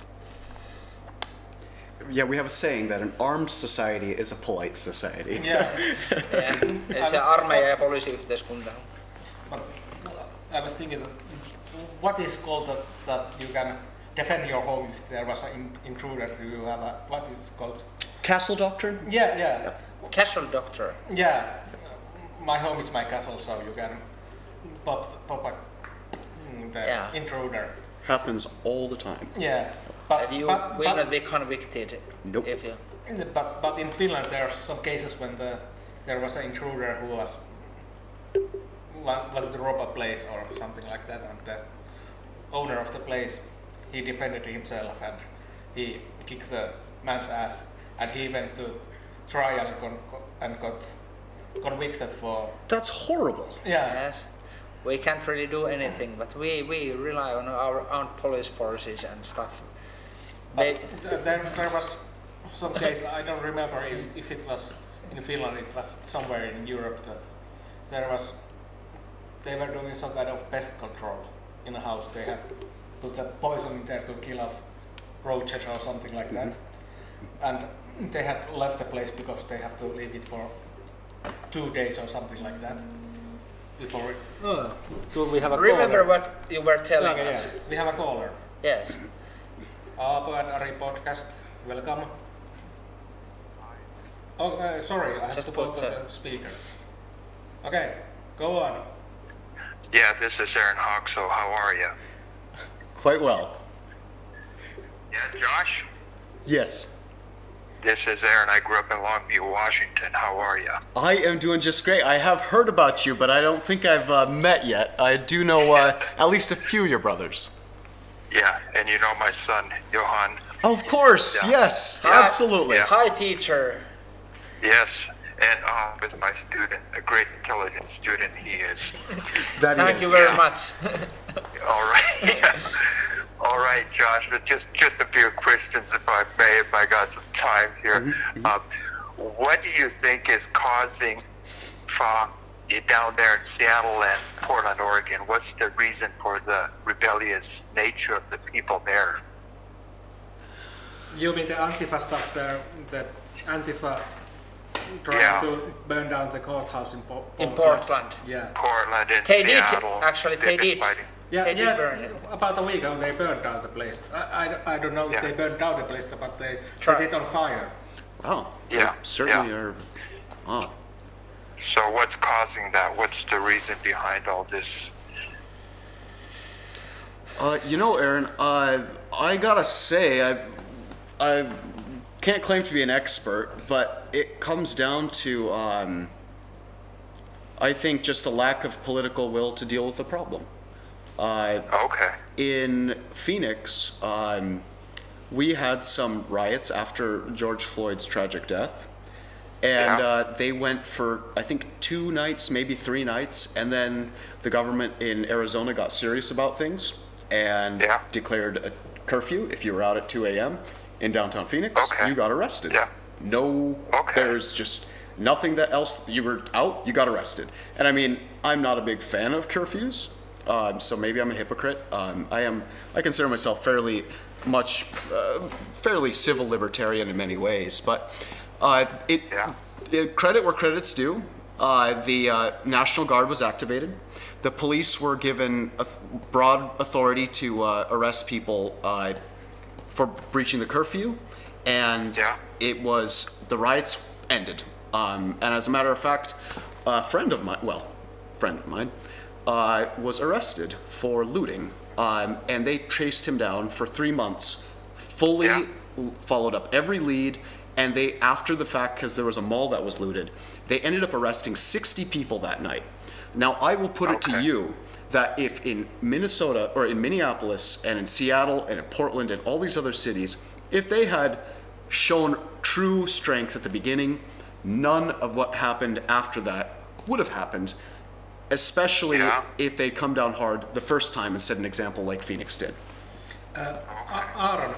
Yeah, we have a saying that an armed society is a polite society. Yeah. yeah. Se armeija ja poliisiyhteiskunta. But I was thinking that what is called that, that you can defend your home if there was an intruder? Do you have a, what is called? Castle doctrine? Yeah, yeah. Yeah. Castle doctor. Yeah. My home is my castle, so you can pop, pop a, the Yeah. intruder. Happens all the time. Yeah. But, And you but, will but, not be convicted Nope. if you. but, but in Finland there are some cases when the, there was an intruder who was wa- wanted to rob a place or something like that, and the owner of the place, he defended himself and he kicked the man's ass, and he went to trial and, con- and got convicted for. That's horrible. Yeah. Yes. We can't really do anything, but we, we rely on our own police forces and stuff. They, But th- then there was some case, I don't remember if, if it was in Finland, it was somewhere in Europe, that there was, they were doing some kind of pest control in a house. They had put a poison in there to kill off roaches or something like that. And they had left the place because they have to leave it for two days or something like that. Before it, oh, do we have a remember caller? what you were telling Okay, us. yeah. We have a caller. Yes. Aapo and Ari podcast, welcome. Oh, uh, sorry, I have Just to put put on the- the speaker. Okay, go on. Yeah, this is Aaron Hawk, so how are you? Quite well. Yeah, Josh? Yes. This is Aaron. I grew up in Longview, Washington. How are you? I am doing just great. I have heard about you, but I don't think I've uh, met yet. I do know uh, at least a few of your brothers. Yeah, and you know my son, Johan? Of course, Yeah. yes, Yeah. absolutely. Yeah. Hi, teacher. Yes, and uh, with my student, a great intelligent student he is. That Thank is. you very Yeah. much. All right. All right, Josh, but just, just a few questions, if I may, if I got some time here. Uh, what do you think is causing from down there in Seattle and Portland, Oregon? What's the reason for the rebellious nature of the people there? You mean the Antifa stuff there, that Antifa trying Yeah. to burn down the courthouse in, po- In Portland. Yeah. Portland and They did, Seattle. actually, they've they been did. fighting. Yeah, They did yeah. burn it. About a week ago they burned down the place. I, I, I don't know if Yeah. they burned down the place, but they Try- set it on fire. Wow. Yeah, they Certainly yeah. are. Wow. So what's causing that? What's the reason behind all this? Uh, you know, Aaron, uh, I gotta say, I, I can't claim to be an expert, but it comes down to, um, I think, just a lack of political will to deal with the problem. Uh, Okay. in Phoenix, um, we had some riots after George Floyd's tragic death. And Yeah. uh, they went for, I think, two nights, maybe three nights. And then the government in Arizona got serious about things and Yeah. declared a curfew. If you were out at two a.m. in downtown Phoenix, Okay. you got arrested. Yeah. No, Okay. there's just nothing that else. You were out, you got arrested. And I mean, I'm not a big fan of curfews. Um, so maybe I'm a hypocrite. Um, I am. I consider myself fairly much, uh, fairly civil libertarian in many ways. But uh, it, Yeah. it credit where credit's due. Uh, the uh, National Guard was activated. The police were given a broad authority to uh, arrest people uh, for breaching the curfew, and Yeah. it was the riots ended. Um, and as a matter of fact, a friend of mine, well, friend of mine, uh, was arrested for looting, um, and they chased him down for three months, fully Yeah. l- followed up every lead, and they, after the fact, because there was a mall that was looted, they ended up arresting sixty people that night. Now, I will put it to Okay. you that if in Minnesota, or in Minneapolis, and in Seattle, and in Portland, and all these other cities, if they had shown true strength at the beginning, none of what happened after that would have happened, especially Yeah. if they'd come down hard the first time and set an example like Phoenix did. A- Aaron,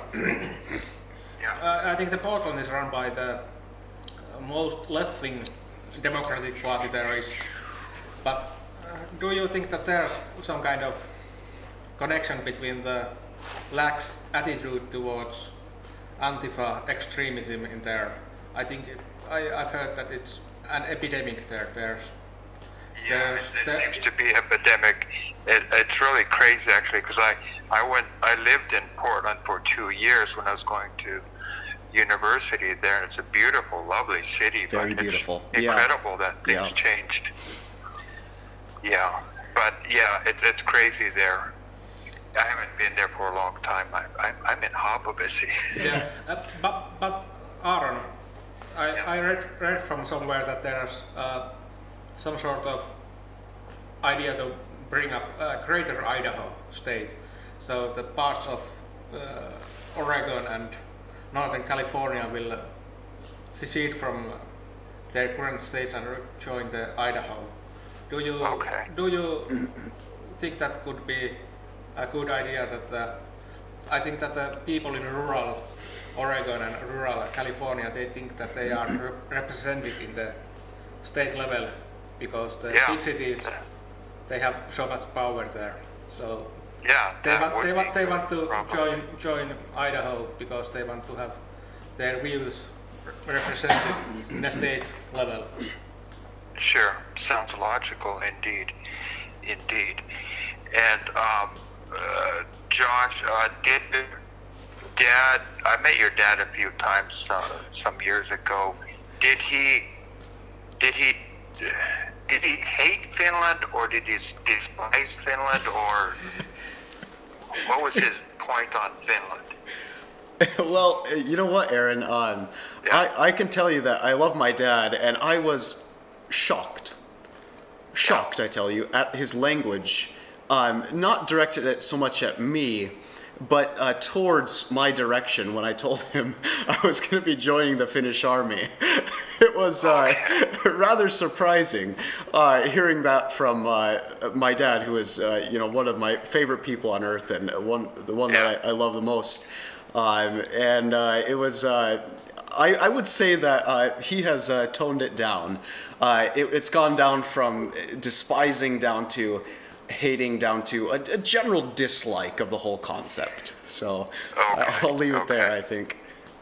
Yeah. uh, I think the Portland is run by the uh, most left-wing Democratic Party there is. But uh, do you think that there's some kind of connection between the lax attitude towards Antifa extremism in there? I think it, I, I've heard that it's an epidemic there. There's Yeah, there's it, it there- seems to be epidemic. It, it's really crazy, actually, because I, I went, I lived in Portland for two years when I was going to university there, and it's a beautiful, lovely city. Very but beautiful. It's Yeah. incredible that things Yeah. changed. Yeah, but yeah, it, it's crazy there. I haven't been there for a long time. I, I, I'm in Hobobisi. yeah, uh, but but Aaron, I, I read read from somewhere that there's uh, some sort of idea to bring up uh, Greater Idaho state, so the parts of uh, Oregon and Northern California will uh, secede from their current states and re- join the Idaho. Do you Okay. do you think that could be a good idea? That the, I think that the people in rural Oregon and rural California, they think that they are re- represented in the state level because the Yeah. big cities, they have so much power there. So Yeah, they that want would they be want they good, want to probably. join join Idaho because they want to have their views re- represented in a state level. Sure, sounds logical indeed, indeed. And um, uh, Josh, uh, did Dad? I met your dad a few times uh, some years ago. Did he? Did he? Did he hate Finland, or did he despise Finland, or what was his point on Finland? Well, you know what, Aaron? Um, Yeah. I, I can tell you that I love my dad, and I was shocked. Shocked, I tell you, at his language. Um, not directed at so much at me, but uh, towards my direction when I told him I was going to be joining the Finnish army. It was uh, rather surprising uh, hearing that from uh, my dad, who is uh, you know one of my favorite people on earth and one the one Yeah. that I, I love the most. Um, and uh, it was. Uh, I, I would say that uh, he has uh, toned it down. Uh, it, it's gone down from despising down to hating down to a, a general dislike of the whole concept. So Okay, uh, I'll leave it there, okay. I think.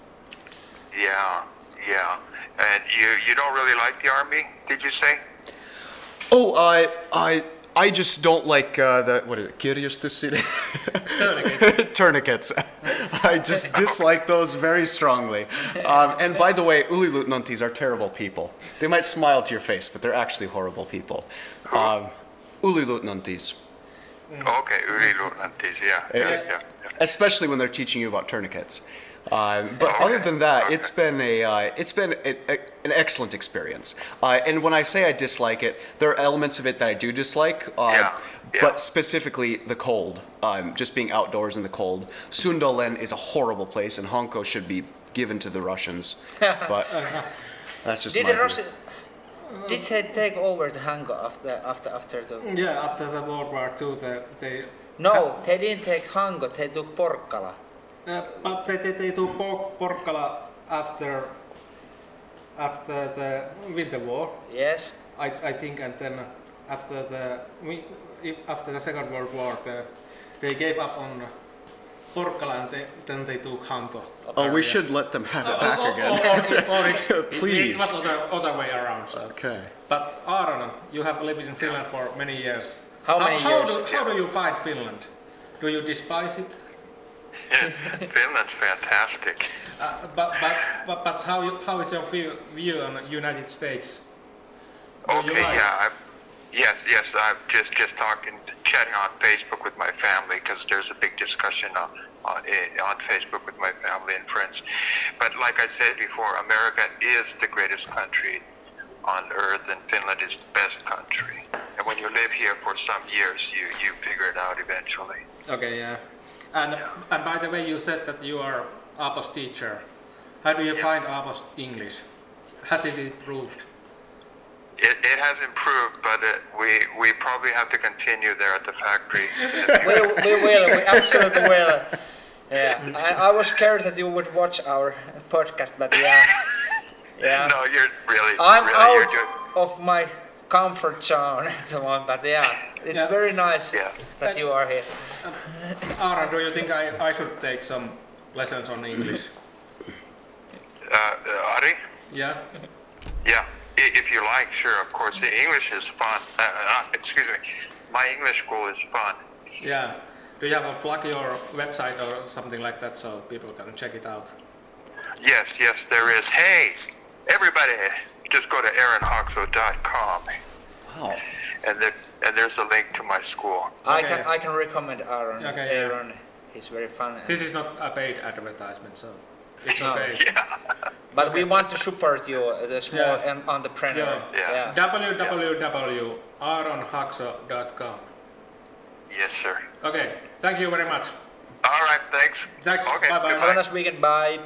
Yeah, yeah. And you you don't really like the army? Did you say? Oh, I I I just don't like uh, the what is it? Kirjastussid? Tourniquet. Tourniquets. I just dislike those very strongly. Um, and by the way, Uliluutnantis are terrible people. They might smile to your face, but they're actually horrible people. Um, Uliluutnantis. Okay, yliluutnantis, yeah, yeah, Yeah. yeah, yeah. Especially when they're teaching you about tourniquets. Um, but other than that, it's been a uh, it's been a, a, an excellent experience. Uh, and when I say I dislike it, there are elements of it that I do dislike. Uh, Yeah, yeah. But specifically the cold, um, just being outdoors in the cold. Sundolen is a horrible place, and Hanko should be given to the Russians. But that's just Did my the view. Russian, did they take over the Hanko after after after the? Yeah, after the World War Two, the, they No, they didn't take Hanko. They took Porkkala. Uh, but they, they, they took Por- Porkkala after after the Winter War, Yes. I, I think, and then after the wi- i- after the Second World War, the, they gave up on Porkkala and they, then they took Hanko. Oh, we should let them have it Or- back or, again. Or, or, or it's, Please. It was other, other way around. So. Okay. But Aaron, you have lived in Finland for many years. How many how years? Do, how do you find Finland? Do you despise it? Finland's fantastic. Uh, but, but, but, but how, you, how is your view, view on the United States? Do you Okay, like yeah. I've, yes, yes. I'm just just talking, chatting on Facebook with my family because there's a big discussion on on, eh, on Facebook with my family and friends. But like I said before, America is the greatest country on earth, and Finland is the best country. And when you live here for some years, you you figure it out eventually. Okay, yeah. And, and by the way, you said that you are Aapo's teacher. How do you Yeah. find Aapo's English? Has it improved? It, it has improved, but uh, we we probably have to continue there at the factory. We, we will. We absolutely will. Yeah. I, I was scared that you would watch our podcast, but yeah. Yeah. No, you're really, I'm really, you're out doing. of my comfort zone at the moment, but yeah, it's Yeah. very nice Yeah. that you are here. Aaron, do you think I, I should take some lessons on English? Uh, uh, Ari? Yeah? Yeah, i- if you like, sure, of course. The English is fun. Uh, uh, excuse me. My English school is fun. Yeah. Do you have a plug your website or something like that so people can check it out? Yes, yes, there is. Hey, everybody, just go to aaron hoxo dot com, Wow. and there, and there's a link to my school. I Okay. can I can recommend Aaron. Okay, yeah. Aaron, he's very fun. and- This is not a paid advertisement, so it's No. okay. Yeah. But we want to support you, uh, the small Yeah. en- entrepreneur. Yeah. Yeah. w w w dot aaron hoxo dot com. Yes, sir. Okay, thank you very much. All right, thanks. Thanks, Okay, bye-bye. Have a nice weekend. Bye.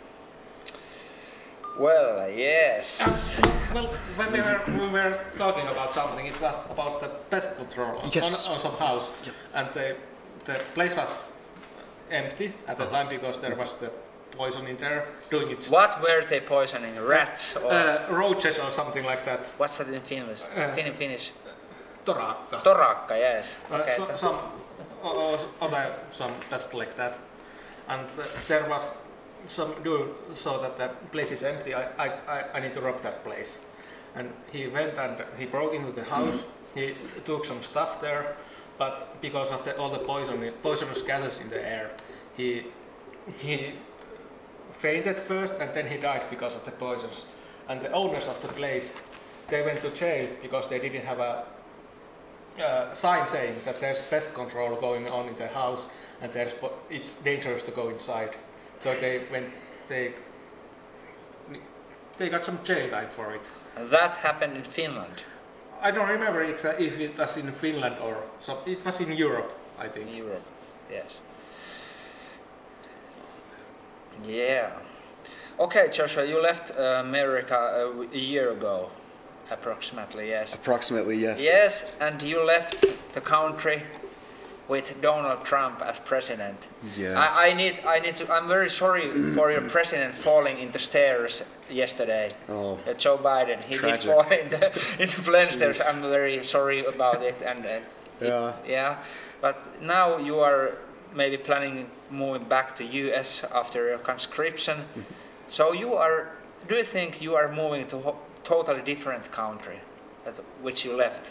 Well, yes. Well, when we were, we were talking about something, it was about the pest control on, Yes. on, on some house, and the, the place was empty at the time because there was the poison in there doing its What were they poisoning? Rats or uh, roaches or something like that. what's that in Finnish? Uh, Fin- Finnish. Torakka. Torakka, yes. Uh, Okay. so, some uh, other some pest like that, and uh, there was some dude saw that the place is empty. I, I, I, I need to rob that place, and he went and he broke into the house. He took some stuff there, but because of the, all the poison, poisonous gases in the air, he he fainted first and then he died because of the poisons. And the owners of the place, they went to jail because they didn't have a uh, sign saying that there's pest control going on in the house and there's po- it's dangerous to go inside. So they went, they they got some jail time for it. That happened in Finland. I don't remember exa- if it was in Finland or so. It was in Europe, I think. In Europe, yes. Yeah. Okay, Joshua, you left uh, America a, a year ago, approximately, yes. Approximately, yes. Yes, and you left the country with Donald Trump as president. Yes. I, I need, I need to. I'm very sorry for your president falling in the stairs yesterday. Oh. Uh, Joe Biden, he Tragic. did fall in the, in the plane stairs. I'm very sorry about it. And uh, it- Yeah. yeah. But now you are maybe planning moving back to U S after your conscription. So you are. Do you think you are moving to a totally different country, that which you left?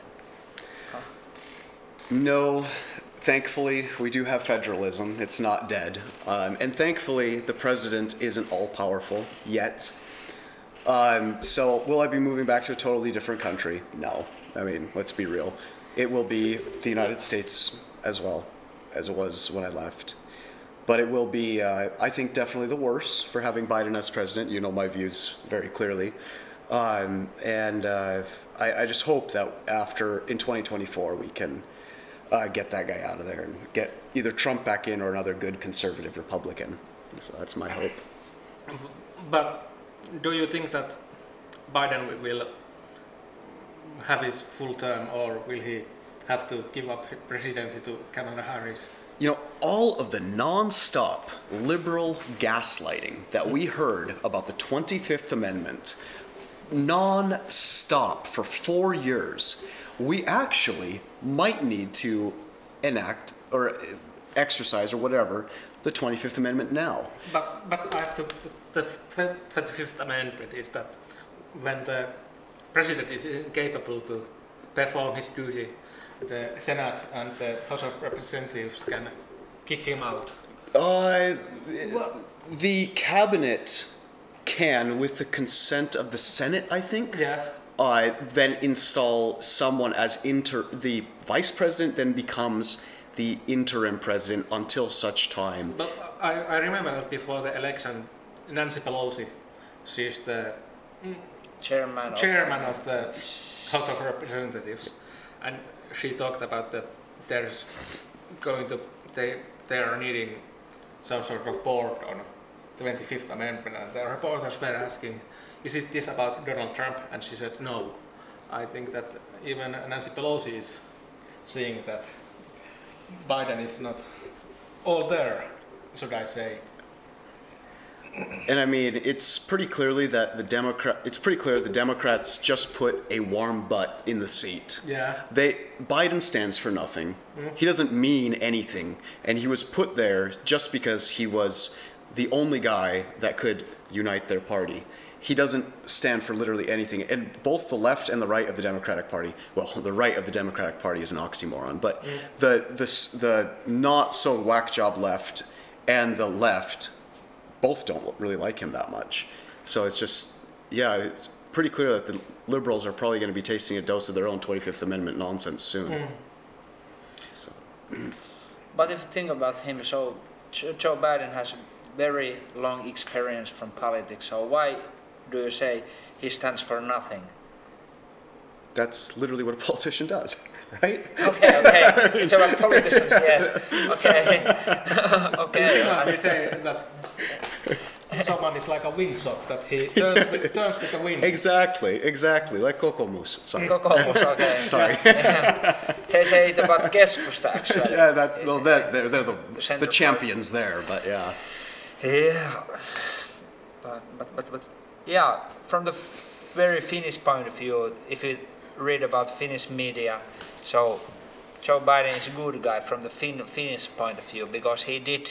No, thankfully, we do have federalism. It's not dead. Um, and thankfully, the president isn't all powerful yet. Um, so, will I be moving back to a totally different country? No. I mean, let's be real. It will be the United States as well as it was when I left. but it will be, uh, I think, definitely the worse for having Biden as president. You know my views very clearly. Um, and uh, I, I just hope that after, in twenty twenty-four, we can uh, get that guy out of there and get either Trump back in or another good conservative Republican. So that's my hope. But do you think that Biden will have his full term, or will he have to give up presidency to Kamala Harris? You know, all of the non-stop liberal gaslighting that we heard about the twenty-fifth Amendment, non-stop for four years, we actually might need to enact or exercise or whatever the twenty-fifth Amendment now. But, but I have to, the twenty-fifth Amendment is that when the president is incapable to perform his duty, the Senate and the House of Representatives can kick him out. Uh, the cabinet can, with the consent of the Senate, I think, Yeah. uh, then install someone as inter. The vice president then becomes the interim president until such time. But I, I remember that before the election, Nancy Pelosi, she's the Chairman. chairman of the House of Representatives, and she talked about that there's going to they they are needing some sort of board on twenty-fifth Amendment, and the reporters were asking, is it this about Donald Trump? And she said no. I think that even Nancy Pelosi is seeing that Biden is not all there, should I say. And I mean, it's pretty clearly that the Democrat. It's pretty clear the Democrats just put a warm butt in the seat. Yeah. They Biden stands for nothing. He doesn't mean anything, and he was put there just because he was the only guy that could unite their party. He doesn't stand for literally anything. And both the left and the right of the Democratic Party, well, the right of the Democratic Party is an oxymoron, but Mm. the the the not so whack job left and the left both don't really like him that much. So it's just, yeah, it's pretty clear that the liberals are probably going to be tasting a dose of their own twenty-fifth Amendment nonsense soon. Mm. So. But if you think about him, so Joe Biden has very long experience from politics. So why do you say he stands for nothing? That's literally what a politician does, right? Okay, okay. It's about politicians, yes. Okay. Okay. Yeah, we say that someone is like a windsock, that he turns with, turns with the wind. Exactly, exactly, like Kokoomus. Sorry. Kokoomus, okay. Sorry. They say it about Keskusta, actually. Yeah, that, well, that, they're, they're the, The the, center champions there, but yeah. Yeah, but, but, but, but yeah, from the f- very Finnish point of view, if you read about Finnish media, so Joe Biden is a good guy from the fin- Finnish point of view, because he did,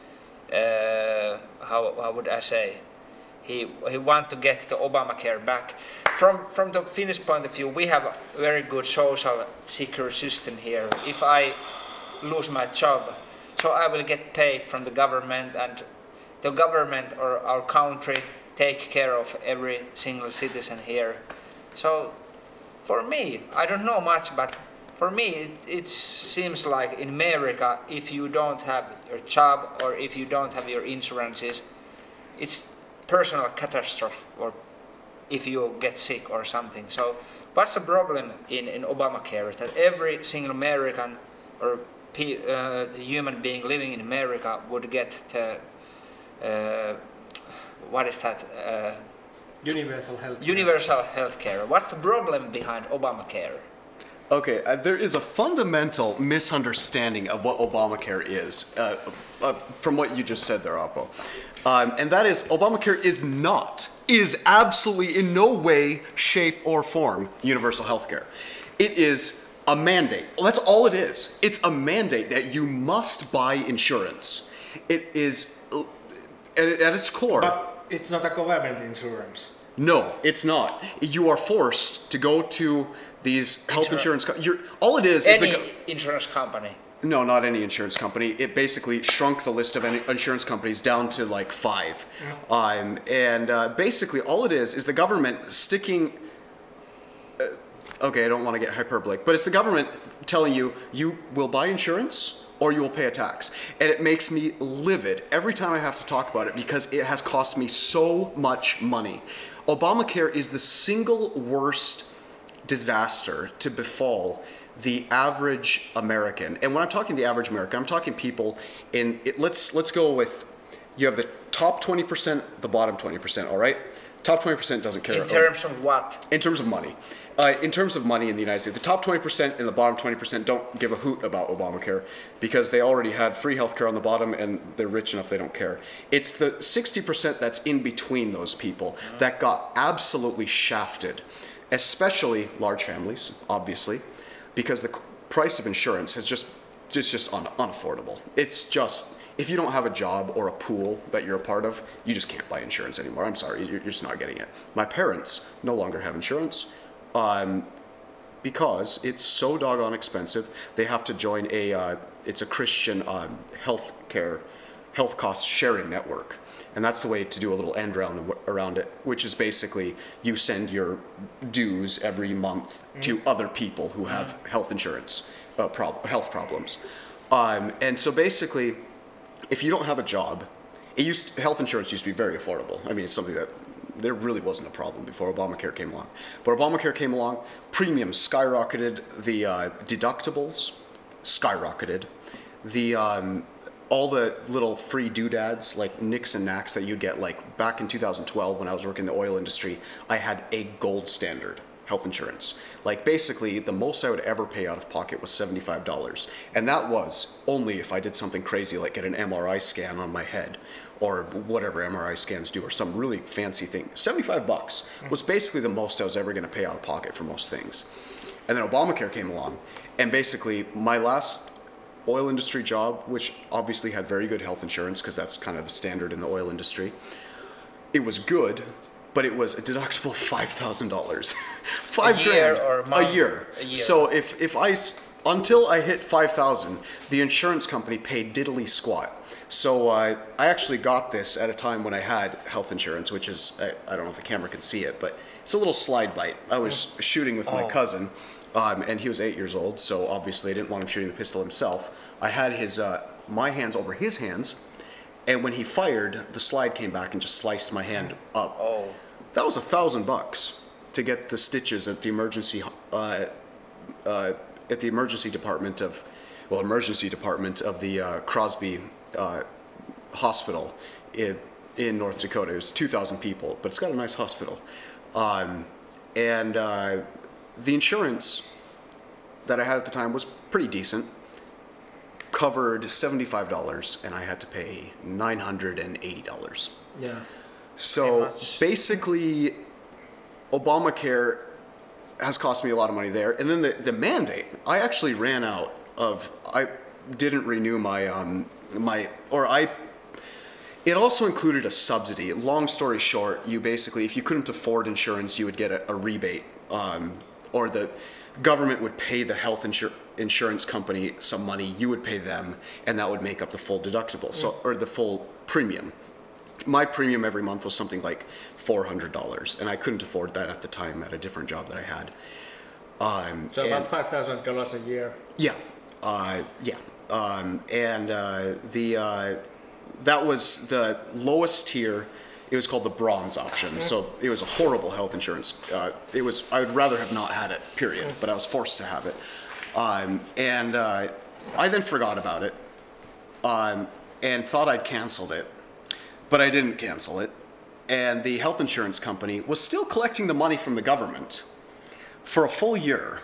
uh, how, how would I say, he he want to get the Obamacare back. From from the Finnish point of view, we have a very good social secure system here. If I lose my job, so I will get paid from the government, and the government or our country take care of every single citizen here. So for me, I don't know much, but for me it, it seems like in America, if you don't have your job or if you don't have your insurances, it's personal catastrophe, or if you get sick or something. So what's the problem in, in Obamacare? That every single American or pe- uh, the human being living in America would get the, uh, what is that? Uh, Universal health. universal health care. What's the problem behind Obamacare? Okay, uh, there is a fundamental misunderstanding of what Obamacare is, uh, uh, from what you just said there, Oppo. Um, and that is, Obamacare is not, is absolutely in no way, shape, or form universal health care. It is a mandate. Well, that's all it is. It's a mandate that you must buy insurance. It is, uh, at, at its core. But it's not a government insurance. No, it's not. You are forced to go to these health Insur- insurance. Co- you're, all it is Any is the. go- insurance company. No, not any insurance company. It basically shrunk the list of any insurance companies down to like five. Um, and uh, basically, all it is is the government sticking. Uh, okay, I don't want to get hyperbolic, but it's the government telling you you will buy insurance or you will pay a tax. And it makes me livid every time I have to talk about it because it has cost me so much money. Obamacare is the single worst disaster to befall the average American. And when I'm talking the average American, I'm talking people in, it, let's, let's go with, you have the top twenty percent, the bottom twenty percent, all right? Top twenty percent doesn't care. In terms of what? In terms of money. Uh, in terms of money in the United States, the top twenty percent and the bottom twenty percent don't give a hoot about Obamacare because they already had free healthcare on the bottom and they're rich enough they don't care. It's the sixty percent that's in between those people that got absolutely shafted, especially large families, obviously, because the price of insurance has just, just, just un- unaffordable. It's just, if you don't have a job or a pool that you're a part of, you just can't buy insurance anymore. I'm sorry, you're, you're just not getting it. My parents no longer have insurance. Um, because it's so doggone expensive, they have to join a, uh, it's a Christian um, health care, health cost sharing network. And that's the way to do a little end round around it, which is basically you send your dues every month mm. to other people who have mm. health insurance, uh, prob- health problems. Um, and so basically, if you don't have a job, it used, health insurance used to be very affordable. I mean, it's something that there really wasn't a problem before Obamacare came along. But Obamacare came along, premiums skyrocketed, the uh, deductibles skyrocketed, the um, all the little free doodads like nicks and knacks that you'd get, like back in two thousand twelve when I was working in the oil industry, I had a gold standard health insurance. Like basically the most I would ever pay out of pocket was seventy-five dollars. And that was only if I did something crazy like get an M R I scan on my head or whatever M R I scans do or some really fancy thing. seventy-five bucks was basically the most I was ever gonna pay out of pocket for most things. And then Obamacare came along and basically my last oil industry job, which obviously had very good health insurance because that's kind of the standard in the oil industry, it was good, but it was a deductible five thousand dollars. Five a year grand or a month? A year. A year. So if, if I, until I hit five thousand, the insurance company paid diddly squat. So uh, I actually got this at a time when I had health insurance, which is, I, I don't know if the camera can see it, but it's a little slide bite. I was shooting with my Oh. cousin, um, and he was eight years old, so obviously I didn't want him shooting the pistol himself. I had his, uh, my hands over his hands, and when he fired, the slide came back and just sliced my hand up. Oh. That was a thousand bucks to get the stitches at the emergency, uh, uh, at the emergency department of, well, emergency department of the uh, Crosby uh, Hospital in, in North Dakota. It was two thousand people, but it's got a nice hospital. Um, and uh, the insurance that I had at the time was pretty decent. Covered seventy-five dollars, and I had to pay nine hundred eighty dollars. Yeah. So much. basically, Obamacare has cost me a lot of money there. And then the, the mandate, I actually ran out of, I didn't renew my, um, my, or I, it also included a subsidy. Long story short, you basically, if you couldn't afford insurance, you would get a, a rebate, um, or the government would pay the health insur- insurance company some money, you would pay them, and that would make up the full deductible, so, or the full premium. My premium every month was something like four hundred dollars, and I couldn't afford that at the time at a different job that I had. Um, So and- about five thousand dollars a year. yeah, uh, yeah, um, and uh, the uh, that was the lowest tier. It was called the bronze option, so it was a horrible health insurance. Uh, it was I would rather have not had it, period, but I was forced to have it, um, and uh, I then forgot about it, um, and thought I'd canceled it, but I didn't cancel it, and the health insurance company was still collecting the money from the government for a full year.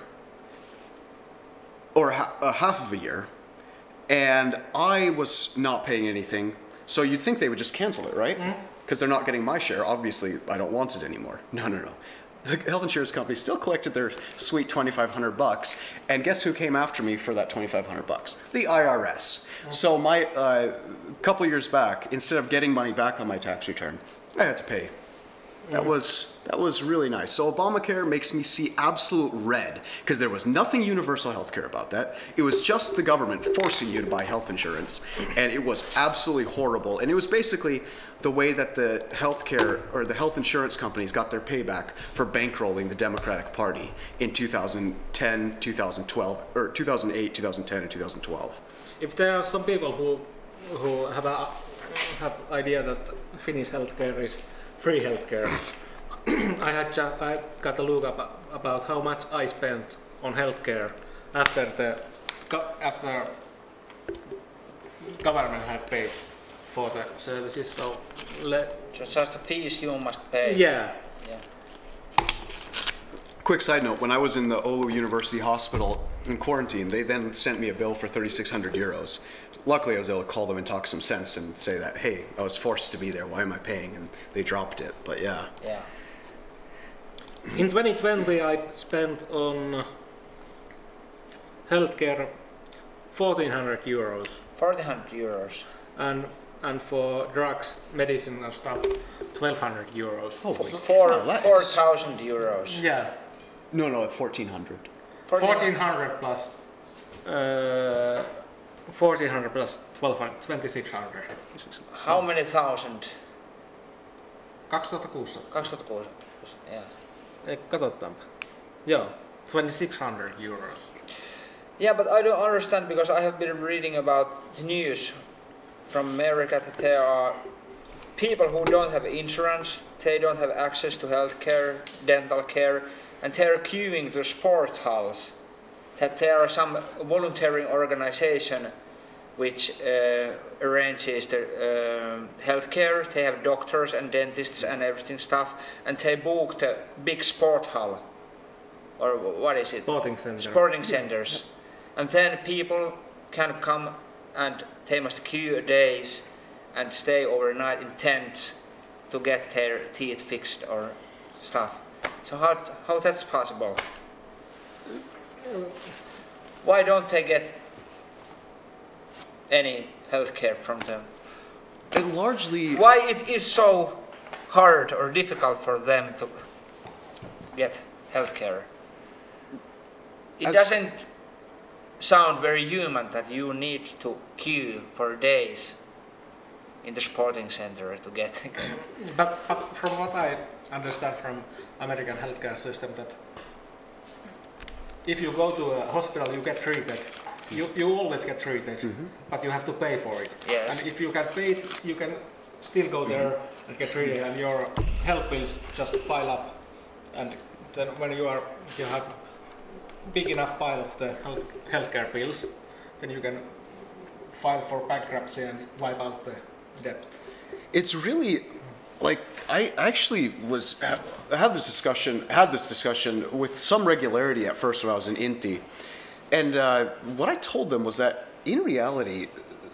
Or ha- a half of a year, and I was not paying anything. So you'd think they would just cancel it, right? Because they're not getting my share. Obviously, I don't want it anymore. No, no, no. The health insurance company still collected their sweet twenty-five hundred bucks, and guess who came after me for that twenty-five hundred bucks? The I R S. So my uh, couple years back, instead of getting money back on my tax return, I had to pay That was that was really nice. So Obamacare makes me see absolute red because there was nothing universal health care about that. It was just the government forcing you to buy health insurance, and it was absolutely horrible. And it was basically the way that the healthcare or the health insurance companies got their payback for bankrolling the Democratic Party in two thousand ten, two thousand twelve, or two thousand eight, two thousand ten, and two thousand twelve. If there are some people who who have a have idea that Finnish healthcare is free healthcare, I had ju- I got a look up about how much I spent on healthcare after the go- after government had paid for the services. So let So just the fees you must pay. yeah. Yeah. Quick side note, when I was in the Oulu University Hospital in quarantine, they then sent me a bill for thirty-six hundred euros. Luckily, I was able to call them and talk some sense and say that, hey, I was forced to be there, why am I paying? And they dropped it, but yeah. Yeah. In twenty twenty, I spent on healthcare fourteen hundred euros, fourteen hundred euros. and and for drugs, medicine and stuff, twelve hundred euros. Oh, So- Four Oh, that is- four thousand euros. yeah, No, no, fourteen hundred. fourteen hundred plus uh, fourteen hundred plus twelve hundred, twenty-six hundred. How many thousand? kaksituhattakuusisataa. kaksituhattakuusi. Yeah. Eh, katsotaanpa. Joo, twenty-six hundred euros. Yeah, but I don't understand because I have been reading about the news from America that there are people who don't have insurance, they don't have access to health care, dental care, and they're queuing to sport halls. That there are some volunteering organization which uh, arranges the uh, health care. They have doctors and dentists and everything stuff, and they book the big sport hall, or what is it? Sporting center. Sporting centers. And then people can come and they must queue days and stay overnight in tents to get their teeth fixed or stuff. So how, how that's possible? Why don't they get any health care from them? And largely, Why it is so hard or difficult for them to get health care? It As- doesn't sound very human that you need to queue for days in the sporting center to get. But, but from what I understand from American healthcare system, that if you go to a hospital, you get treated. You, you always get treated, but you have to pay for it. Yes. And if you get paid, you can still go there and get treated, and your health bills just pile up. And then when you are you have big enough pile of the health healthcare bills, then you can file for bankruptcy and wipe out the debt. it's really like I actually was I had this discussion had this discussion with some regularity at first when I was in Inti, and uh, what I told them was that in reality,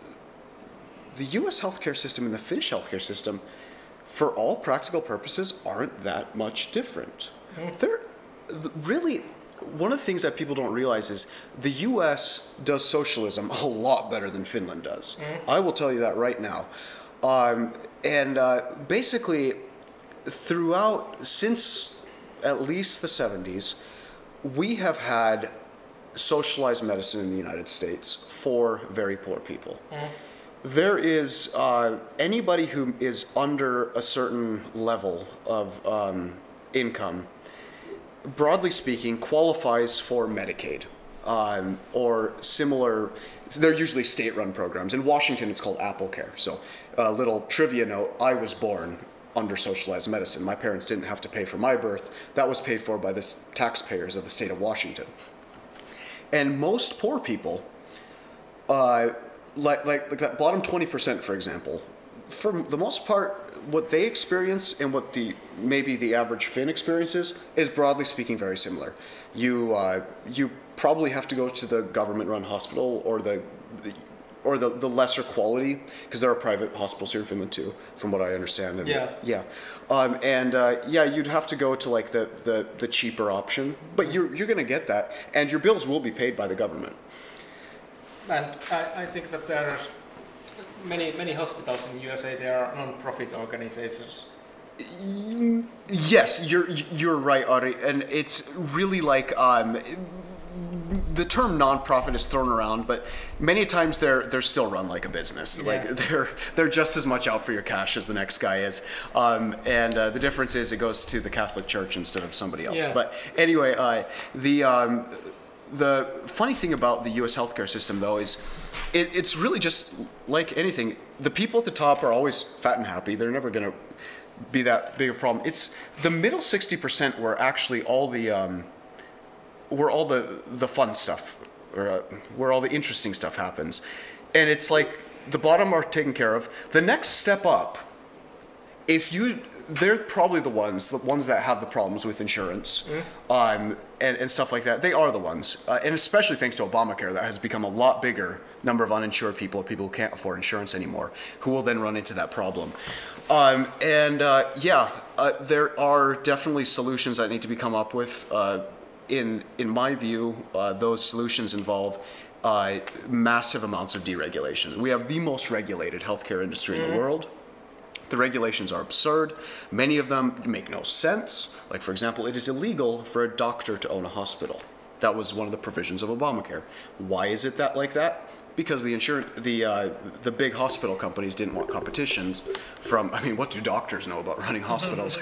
the U S healthcare system and the Finnish healthcare system, for all practical purposes, aren't that much different. They're th- really. One of the things that people don't realize is the U S does socialism a lot better than Finland does. I will tell you that right now. Um, and uh, basically, throughout, since at least the seventies, we have had socialized medicine in the United States for very poor people. There is uh, anybody who is under a certain level of um, income, broadly speaking, qualifies for Medicaid um, or similar. They're usually state-run programs. In Washington, it's called AppleCare. So, a little trivia note: I was born under socialized medicine. My parents didn't have to pay for my birth. That was paid for by the s- taxpayers of the state of Washington. And most poor people, uh, like, like like that bottom twenty percent, for example, for the most part, what they experience and what the maybe the average Finn experiences is, broadly speaking, very similar. You uh, you probably have to go to the government-run hospital or the, the or the, the lesser quality, because there are private hospitals here in Finland too, from what I understand. And Yeah. yeah. Um, and uh, yeah, you'd have to go to like the, the, the cheaper option, but you're you're gonna get that, and your bills will be paid by the government. And I, I think that there are many many hospitals in U S A. They are non-profit organizations, Yes, you're you're right, Ari, and it's really like um, the term nonprofit is thrown around, but many times they're they're still run like a business. Yeah. Like they're they're just as much out for your cash as the next guy is, um, and uh, the difference is it goes to the Catholic Church instead of somebody else. Yeah. But anyway, uh, the um, the funny thing about the U S healthcare system, though, is it, it's really just like anything. The people at the top are always fat and happy. They're never going to be that big a problem. It's the middle sixty percent where actually all the um, where all the the fun stuff, or uh, where all the interesting stuff happens, and it's like the bottom are taken care of. The next step up, if you, they're probably the ones, the ones that have the problems with insurance, mm. um, and, and stuff like that. They are the ones, uh, and especially thanks to Obamacare, that has become a lot bigger number of uninsured people, people who can't afford insurance anymore, who will then run into that problem. Um, and uh, yeah, uh, there are definitely solutions that need to be come up with. Uh, in in my view, uh, those solutions involve uh, massive amounts of deregulation. We have the most regulated healthcare industry mm-hmm. in the world. The regulations are absurd. Many of them make no sense. Like, for example, it is illegal for a doctor to own a hospital. That was one of the provisions of Obamacare. Why is it that like that? Because the insurance, the uh, the big hospital companies didn't want competitions from. I mean, what do doctors know about running hospitals?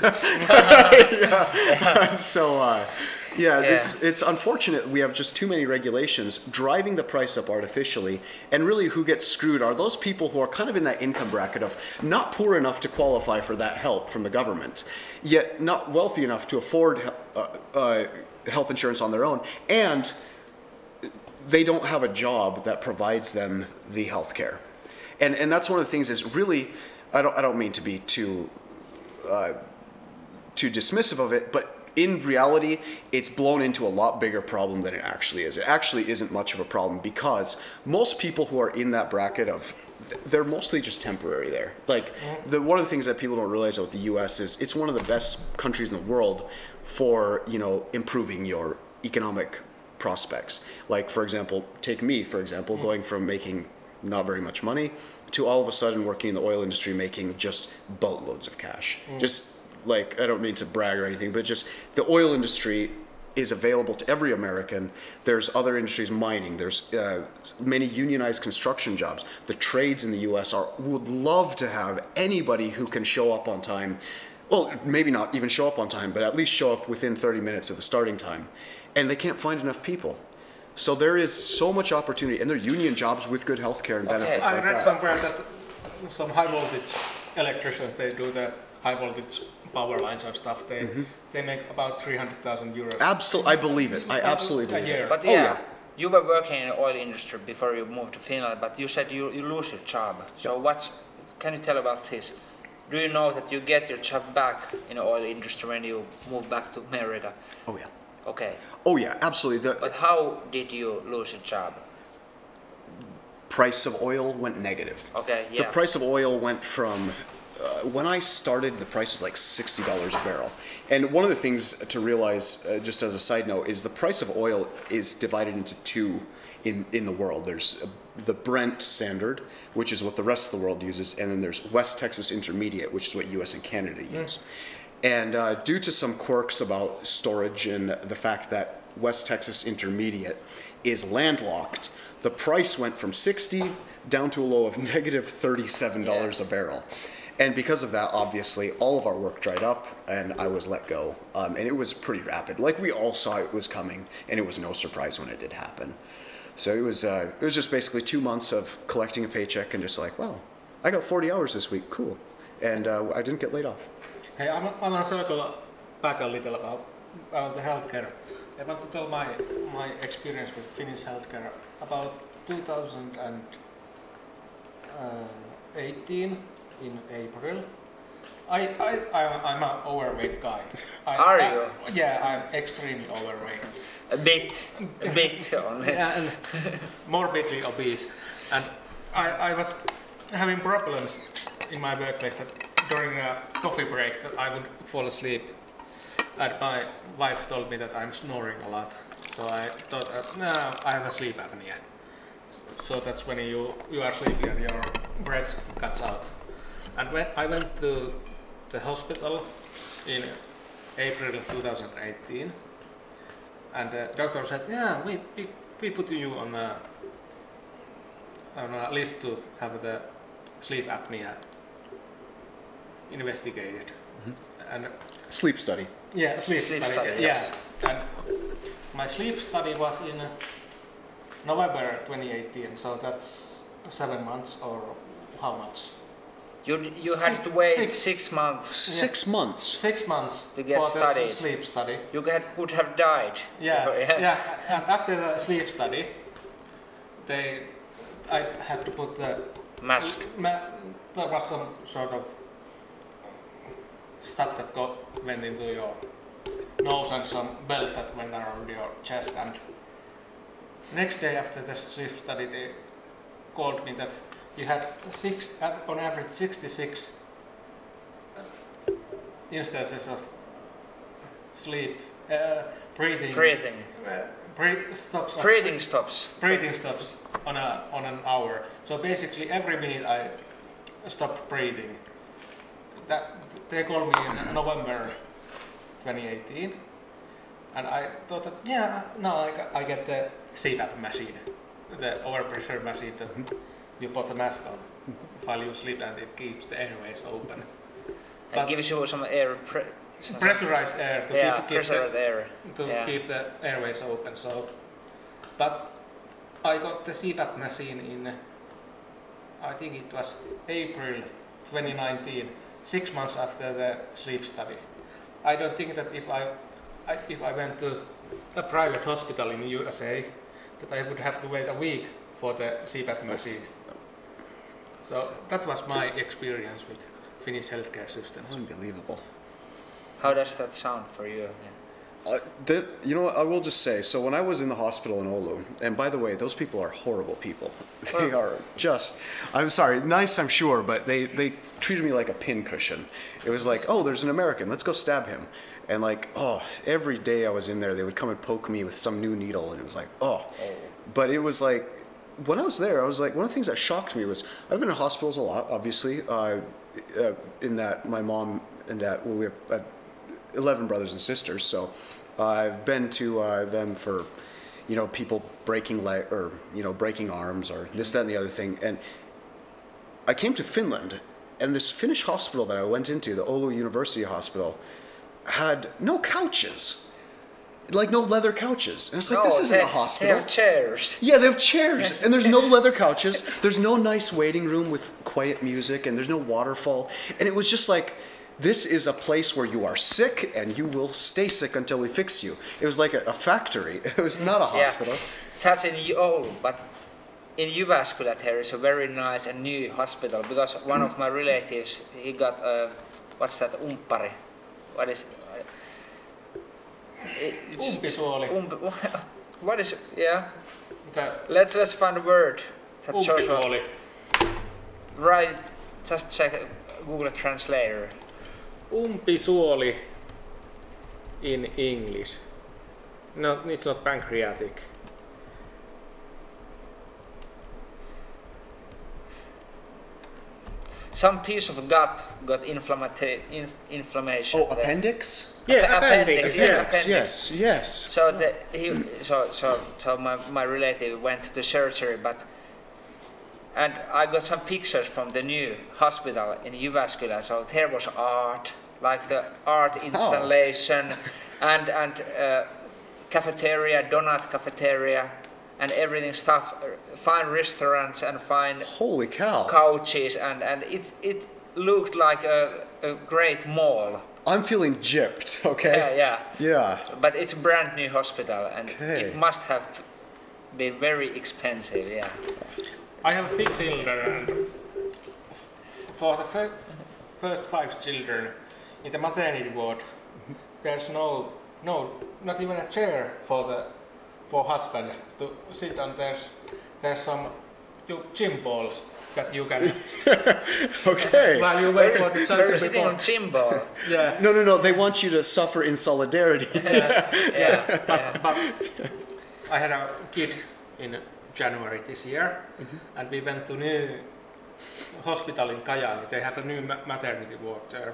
yeah. So, uh, yeah, yeah. This, it's unfortunate we have just too many regulations driving the price up artificially. And really, who gets screwed are those people who are kind of in that income bracket of not poor enough to qualify for that help from the government, yet not wealthy enough to afford uh, uh, health insurance on their own, and they don't have a job that provides them the health care. And and that's one of the things is really, I don't I don't mean to be too uh, too dismissive of it, but in reality, it's blown into a lot bigger problem than it actually is. It actually isn't much of a problem because most people who are in that bracket of, they're mostly just temporary there. Like, the one of the things that people don't realize about the U S is it's one of the best countries in the world for, you know, improving your economic prospects. Like, for example, take me, for example, going from making not very much money to all of a sudden working in the oil industry making just boatloads of cash. Mm. Just like, I don't mean to brag or anything, but just the oil industry is available to every American. There's other industries, mining, there's uh, many unionized construction jobs. The trades in the U S are would love to have anybody who can show up on time. Well, maybe not even show up on time, but at least show up within thirty minutes of the starting time. And they can't find enough people. So there is so much opportunity, and they're union jobs with good health care and Okay. benefits I like read that. somewhere that some high voltage electricians, they do the high voltage power lines and stuff. They Mm-hmm. they make about three hundred thousand euros. Absolutely, I believe it. I absolutely a believe year. it. But Oh, yeah, yeah. you were working in the oil industry before you moved to Finland, but you said you, you lose your job. So what's, can you tell about this? Do you know that you get your job back in the oil industry when you move back to America? Oh yeah. Okay. Oh yeah, absolutely. The But how did you lose your job? price of oil went negative. Okay, yeah. The price of oil went from, uh, when I started, the price was like sixty dollars a barrel. And one of the things to realize, uh, just as a side note, is the price of oil is divided into two in, in the world. There's uh, the Brent standard, which is what the rest of the world uses, and then there's West Texas Intermediate, which is what U S and Canada use. And uh, due to some quirks about storage and the fact that West Texas Intermediate is landlocked, the price went from sixty down to a low of negative thirty-seven dollars Yeah. a barrel. And because of that, obviously, all of our work dried up and I was let go. Um, and it was pretty rapid. Like, we all saw it was coming, and it was no surprise when it did happen. So it was, uh, it was just basically two months of collecting a paycheck and just like, well, I got forty hours this week, cool. And uh, I didn't get laid off. Hey, I want to circle back a little about, about the healthcare. I want to tell my my experience with Finnish healthcare about two thousand eighteen in April. I I I- I'm an overweight guy. I, Are I- you? Yeah, I'm extremely overweight. A bit, a bit only. Yeah, and morbidly obese. And I, I was having problems in my workplace that during a coffee break that I would fall asleep. And my wife told me that I'm snoring a lot. So I thought, uh, no, I have a sleep apnea. So that's when you, you are sleepy and your breath cuts out. And when I went to the hospital in April two thousand eighteen, and the doctor said, "Yeah, we we, we put you on a on a list to have the sleep apnea investigated." Mm-hmm. And sleep study. Yeah, sleep, Sleep study. study, Yeah, yes. and my sleep study was in November twenty eighteen, so that's seven months or how much? You you had to wait Six. six, months. Six months. Six months To get for studied. the sleep study. You had, could have died. Yeah, before- yeah. And after the sleep study, they, I had to put the Mask. Ma- there was some sort of stuff that go, went into your nose and some belt that went around your chest. And next day after the sleep study, they called me that you had six, on average sixty-six instances of sleep, uh, breathing, Breathing. uh, breath stops, of- Breathing stops. breathing stops on a on an hour. So basically, every minute I stopped breathing. That they called me in November twenty eighteen, and I thought that yeah, now I, got, I get the C PAP machine, the overpressure machine that you put the mask on while you sleep, and it keeps the airways open. And But- gives you some air. Pre some Pressurized air to yeah, keep, keep the, pressurized air. to Yeah. keep the airways open. So, but I got the C PAP machine in, I think it was April twenty nineteen, six months after the sleep study. I don't think that if I, I if I went to a private hospital in U S A, that I would have to wait a week for the C PAP machine. So that was my experience with Finnish healthcare system. Unbelievable. How does that sound for you? Yeah. Uh, that, you know what, I will just say, so when I was in the hospital in Oulu, and by the way, those people are horrible people. They Oh. are just, I'm sorry, nice I'm sure, but they, they treated me like a pincushion. It was like, oh, there's an American, let's go stab him. And like, oh, every day I was in there, they would come and poke me with some new needle, and it was like, oh. But it was like, when I was there, I was like, one of the things that shocked me was, I've been in hospitals a lot, obviously, uh, uh, in that my mom and dad, well, we have, I have eleven brothers and sisters, so uh, I've been to uh, them for, you know, people breaking leg or you know breaking arms or this, that, and the other thing. And I came to Finland, and this Finnish hospital that I went into, the Oulu University Hospital, had no couches, like no leather couches. And it's like, No, this isn't they, a hospital. They have chairs. Yeah, they have chairs, and there's no leather couches. There's no nice waiting room with quiet music, and there's no waterfall. And it was just like, this is a place where you are sick, and you will stay sick until we fix you. It was like a, a factory. It was not a hospital. Yeah. That's in Oulu, but in Jyväskylä there is a very nice and new hospital because one of my relatives, he got a, what's that, umppari? What is it? It's- Umpisuoli. Ump, what is, yeah, The let's, let's find a word. That shows what- umpisuoli. Right, just check Google Translator. Umpisuoli in English. No, it's not pancreatic. Some piece of gut got inflammata- in, inflammation. Oh, there. appendix? Yeah, appendix, appendix. yeah. Yeah. appendix. Yes, yes. So the, he, so so so my, my relative went to surgery, but and I got some pictures from the new hospital in Jyväskylä. So there was art, like the art installation, and and uh, cafeteria, donut cafeteria, and everything stuff, uh, fine restaurants and fine Holy cow. couches, and and it it looked like a, a great mall. I'm feeling gypped, okay? Yeah, yeah. Yeah. But it's a brand new hospital, and Okay. it must have been very expensive. Yeah. I have six children, and f- for the fir- first five children in the maternity ward, there's no, no, not even a chair for the for husband to sit on. There's there's some you, gym balls that you can Okay. while you wait for the They're child to be sitting born. on gym ball. Yeah, No, no, no. They want you to suffer in solidarity. yeah. Yeah. But, but I had a kid in January this year, and we went to new hospital in Kajaani. They had a new ma- maternity ward there,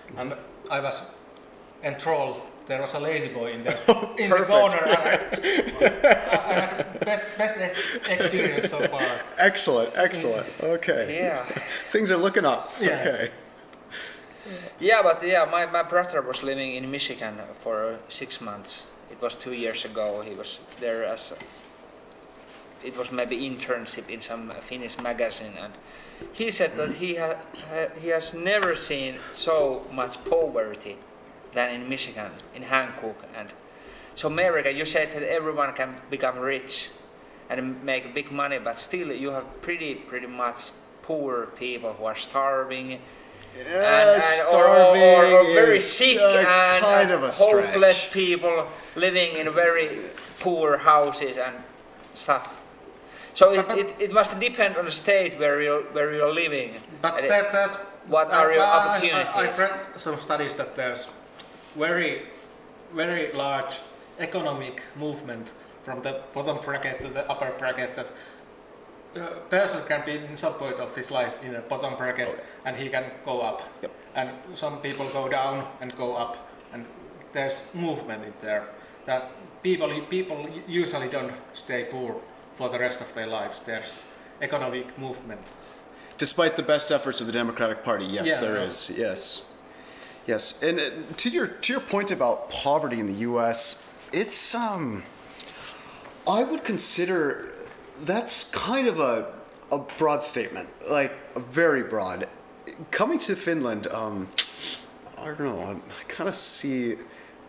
and I was enthralled. There was a lazy boy in the in the Perfect. corner. And I, I had best best ex- experience so far. Excellent, excellent. Okay. Yeah. Things are looking up. Yeah. Okay. Yeah, but yeah, my, my brother was living in Michigan for six months. It was two years ago. He was there as a, it was maybe internship in some Finnish magazine, and he said that he ha, ha, he has never seen so much poverty than in Michigan, in Hancock. And so America, you said that everyone can become rich and make big money, but still you have pretty pretty much poor people who are starving. Yeah, and, starving or, or, or very is, sick uh, and kind of a hopeless stretch. people living in very poor houses and stuff. So it, But- it, it must depend on the state where you're where you're living. But And it- that, that's what are your I- I- opportunities? I, I've read some studies that there's very, very large economic movement from the bottom bracket to the upper bracket. That a person can be in some point of his life in a bottom bracket, Okay. and he can go up. Yep. And some people go down and go up, and there's movement in there. That people people usually don't stay poor for the rest of their lives. There's economic movement. Despite the best efforts of the Democratic Party, yes, Yeah, there no. is. Yes, yes. And uh, to your to your point about poverty in the U S, it's um, I would consider that's kind of a a broad statement, like a very broad. Coming to Finland, um, I don't know. I, I kind of see.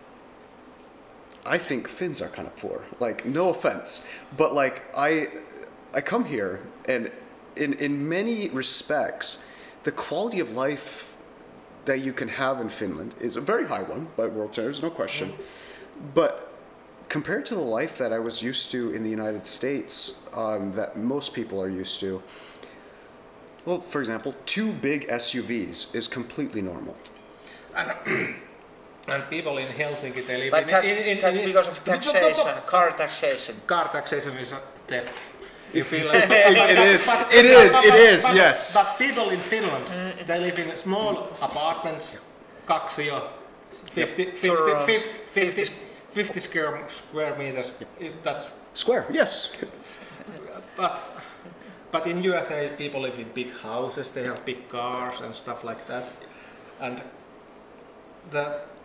I think Finns are kind of poor. Like, no offense, but like I, I come here, and in in many respects, the quality of life that you can have in Finland is a very high one by world standards, no question. But compared to the life that I was used to in the United States, um, that most people are used to, well, for example, two big S U Vs is completely normal. And, and people in Helsinki, they live But in, that's, in, in, that's in because of taxation, car taxation. car taxation is a theft. You feel like It is, it is, it is, but, yes. But people in Finland, they live in small apartments, kaksio, fifty, fifty, Two fifty, rooms. fifty, fifty square, square meters. Is, that's, Square, yes. but, but in U S A, people live in big houses, they have big cars and stuff like that. And the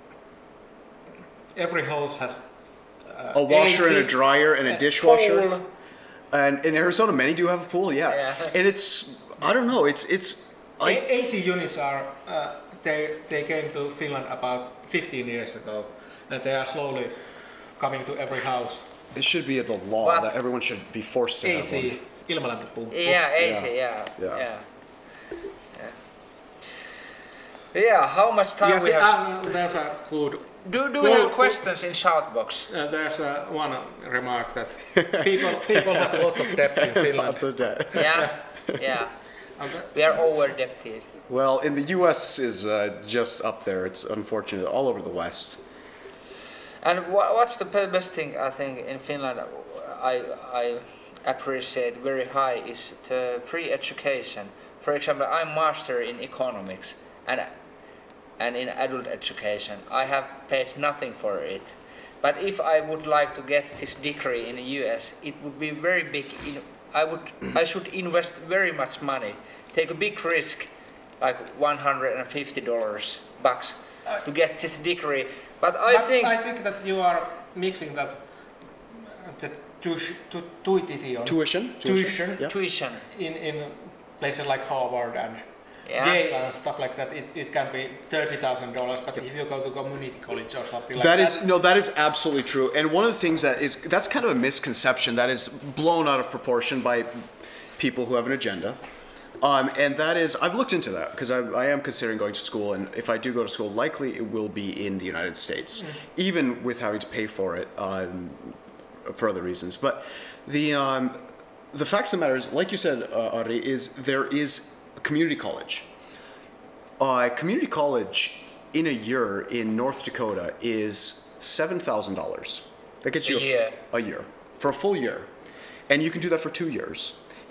every house has uh, A washer A C, and a dryer and a dishwasher. Pool. And in Arizona, many do have a pool, yeah. Yeah. And it's, I don't know, it's, it's, I, A- AC units are, uh, they, they came to Finland about fifteen years ago, and they are slowly coming to every house. it should be the law What? that everyone should be forced to have one. A C, ilmalämpöpumppu. Yeah, easy, yeah. Yeah. Yeah. Yeah. Yeah, how much time Yes, we have? uh, there's a good. do do we Well, have questions in shoutbox? Uh, there's uh, one remark that people people have lots of debt in Finland. Lots of debt. Yeah, yeah. And the- We are over debted. Well, in the U S is uh, just up there. It's unfortunate all over the West. And wha- what's the be- best thing I think in Finland? I I appreciate very high is the free education. For example, I'm master in economics, and and in adult education, I have paid nothing for it. But if I would like to get this degree in the U S, it would be very big. In, I would I should invest very much money, take a big risk, like one hundred fifty dollars bucks, to get this degree. But I but think I think that you are mixing that uh, the tuition, tu, tuition, Tuition? tuition Yeah. tuition. in in places like Harvard and Yeah. Yale and stuff like that. It, it can be thirty thousand dollars, but if you go to community college or something like That that, is no, that is absolutely true. And one of the things that is that's kind of a misconception that is blown out of proportion by people who have an agenda. Um, and that is, I've looked into that because I, I am considering going to school, and if I do go to school, likely it will be in the United States, even with having to pay for it um, for other reasons. But the um, the fact of the matter is, like you said, uh, Ari, is there is a community college. Uh, community college in a year in North Dakota is seven thousand dollars. That gets A you year. a year for a full year, and you can do that for two years.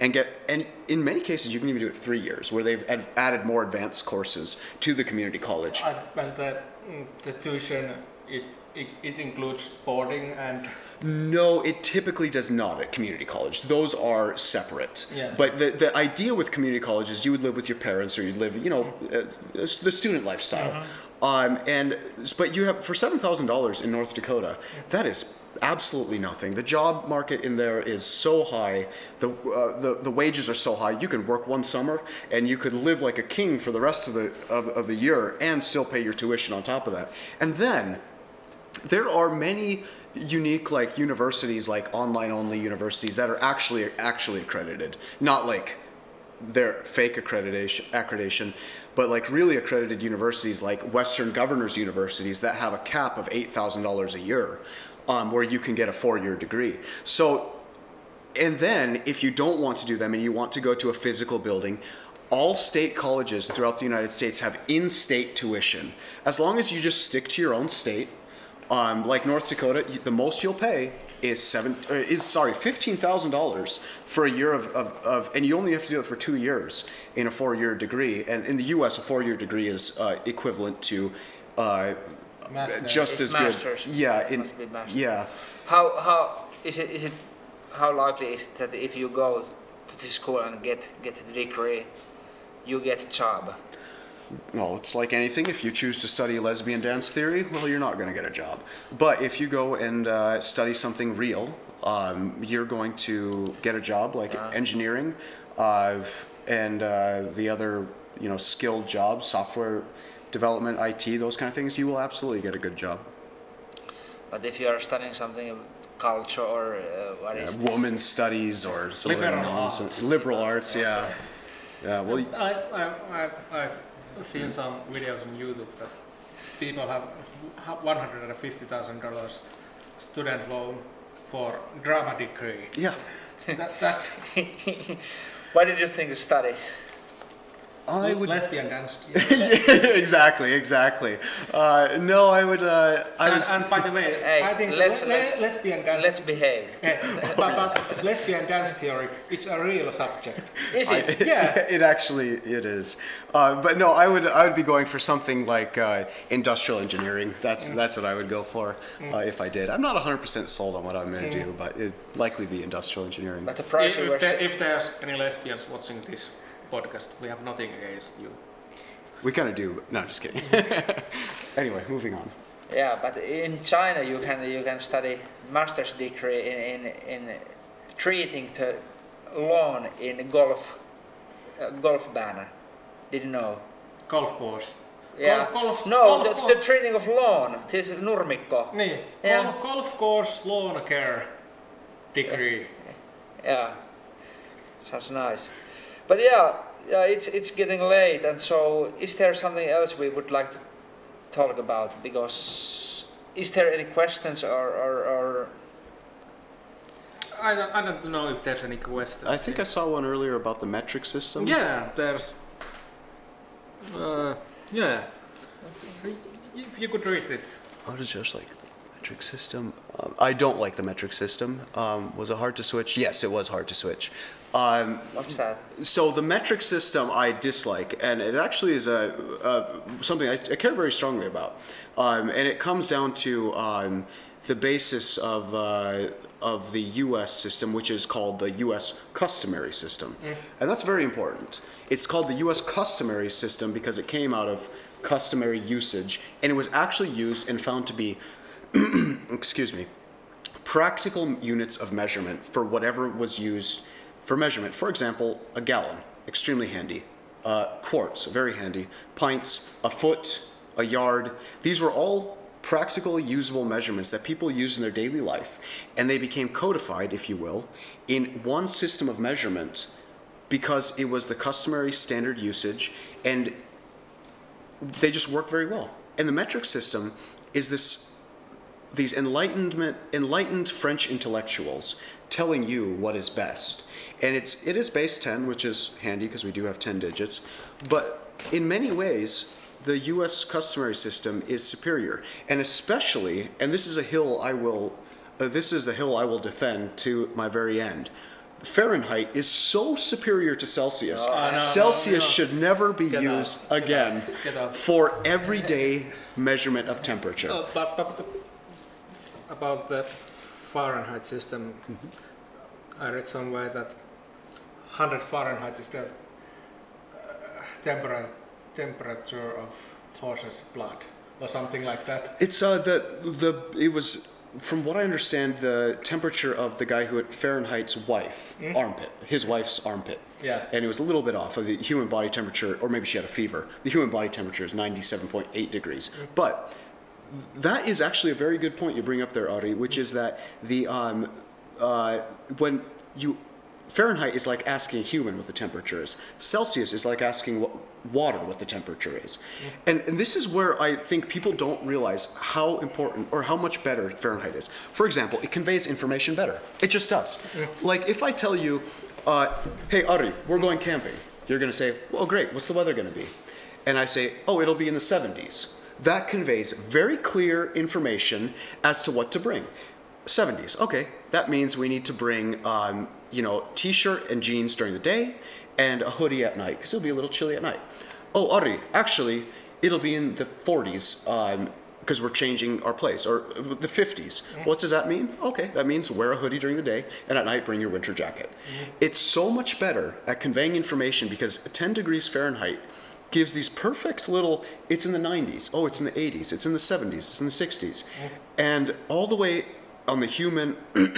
and get, and in many cases you can even do it three years, where they've ad- added more advanced courses to the community college. And, and the, mm, the tuition, it, it, it includes boarding and... No, it typically does not at community college. Those are separate. Yeah. But the, the idea with community college is you would live with your parents, or you'd live, you know, uh, the student lifestyle. Mm-hmm. Um, and but you have, for seven thousand dollars in North Dakota, that is absolutely nothing. The job market in there is so high. The, uh, the the wages are so high. You can work one summer and you could live like a king for the rest of the of, of the year and still pay your tuition on top of that. And then there are many unique like universities, like online only universities, that are actually actually accredited, not like they're fake accreditation accreditation but like really accredited universities like Western Governors Universities that have a cap of eight thousand dollars a year, um, where you can get a four-year degree. So, and then if you don't want to do them and you want to go to a physical building, all state colleges throughout the United States have in-state tuition. As long as you just stick to your own state, um, like North Dakota, the most you'll pay is seven uh, is sorry fifteen thousand dollars for a year of, of, of and you only have to do it for two years in a four-year degree. And in the U S, a four-year degree is uh, equivalent to uh, Master. just It's as masters. good. Yeah, in, Must be masters. yeah. How how is it is it how likely is it that if you go to this school and get get a degree, you get a job? Well, it's like anything. If you choose to study lesbian dance theory, well, you're not going to get a job. But if you go and uh, study something real, um, you're going to get a job, like Yeah. engineering, uh, and uh, the other, you know, skilled jobs, software development, I T, those kind of things. You will absolutely get a good job. But if you are studying something culture or uh, what is Uh, women's studies or some other Liberal nonsense. arts. Liberal arts, yeah, yeah. Well, y- I, I, I, I've seen some videos on YouTube that people have one hundred fifty thousand dollars student loan for drama degree. yeah. That, that's What did you think of study? I would. lesbian dance. Yeah, exactly, exactly. Uh, no, I would. Uh, I and, was. and by the way, Hey, I think let's- le- le- lesbian dance. Let's behave. Yeah, but, but lesbian dance theory is a real subject. Is it? Yeah. It actually it is, uh, but no, I would I would be going for something like uh, industrial engineering. That's that's what I would go for uh, if I did. I'm not one hundred percent sold on what I'm going to do, but it'd likely be industrial engineering. But the price If, you if, were there, sa- if there's any lesbians watching this podcast, we have nothing against you. We kind of do. No, just kidding. Anyway, moving on. yeah, but in China you can you can study master's degree in in, in treating the lawn in golf uh, golf banner. Did you know? Golf course. Yeah. Golf, golf, no, golf, the, golf. the treating of lawn. This is nurmikko. Niin, Yeah. golf, golf course lawn care degree. Yeah, sounds nice. But yeah, yeah, it's it's getting late, and so is there something else we would like to talk about? Because is there any questions or or, or I don't, I don't know if there's any questions. I think I saw one earlier about the metric system. Yeah, there's. Uh, yeah. If you could read it. How does yours like the metric system? Um, I don't like the metric system. Um, was it hard to switch? Yes, it was hard to switch. Um, what's that? so the metric system I dislike, and it actually is a, a something I, I care very strongly about, um, and it comes down to um, the basis of uh, of the U S system, which is called the U S customary system, and that's very important. It's called the U S customary system because it came out of customary usage, and it was actually used and found to be, excuse me, practical units of measurement for whatever was used for measurement. For example, a gallon, extremely handy. Uh, quarts, very handy. Pints, a foot, a yard. These were all practical, usable measurements that people use in their daily life, and they became codified, if you will, in one system of measurement because it was the customary standard usage, and they just work very well. And the metric system is this, these enlightenment, enlightened French intellectuals telling you what is best. And it's, it is base ten, which is handy because we do have ten digits, but in many ways, the U S customary system is superior. And especially, and this is a hill I will, uh, this is a hill I will defend to my very end, Fahrenheit is so superior to Celsius. Oh, no, Celsius no, no. should never be Get used out. again Get out. for everyday measurement of temperature. Uh, but but the, about the Fahrenheit system, Mm-hmm. I read somewhere that one hundred Fahrenheit is the uh, temperature temperature of horse's blood or something like that. It's uh the the it was from what I understand the temperature of the guy who had Fahrenheit's wife armpit, his wife's armpit. Yeah. And it was a little bit off of the human body temperature, or maybe she had a fever. The human body temperature is ninety-seven point eight degrees. But that is actually a very good point you bring up there, Ari, which is that the um uh when you Fahrenheit is like asking a human what the temperature is. Celsius is like asking what, water what the temperature is. And, and this is where I think people don't realize how important or how much better Fahrenheit is. For example, it conveys information better. It just does. Like if I tell you, uh, hey Ari, we're going camping. You're going to say, well, great, what's the weather going to be? And I say, oh, it'll be in the seventies. That conveys very clear information as to what to bring. seventies, okay, that means we need to bring um, you know, t-shirt and jeans during the day and a hoodie at night because it'll be a little chilly at night. Oh, Ari, actually, it'll be in the forties because um, we're changing our place, or the fifties. What does that mean? Okay, that means wear a hoodie during the day and at night bring your winter jacket. Mm-hmm. It's so much better at conveying information because ten degrees Fahrenheit gives these perfect little, it's in the nineties, oh, it's in the eighties, it's in the seventies, it's in the sixties. Mm-hmm. And all the way on the human,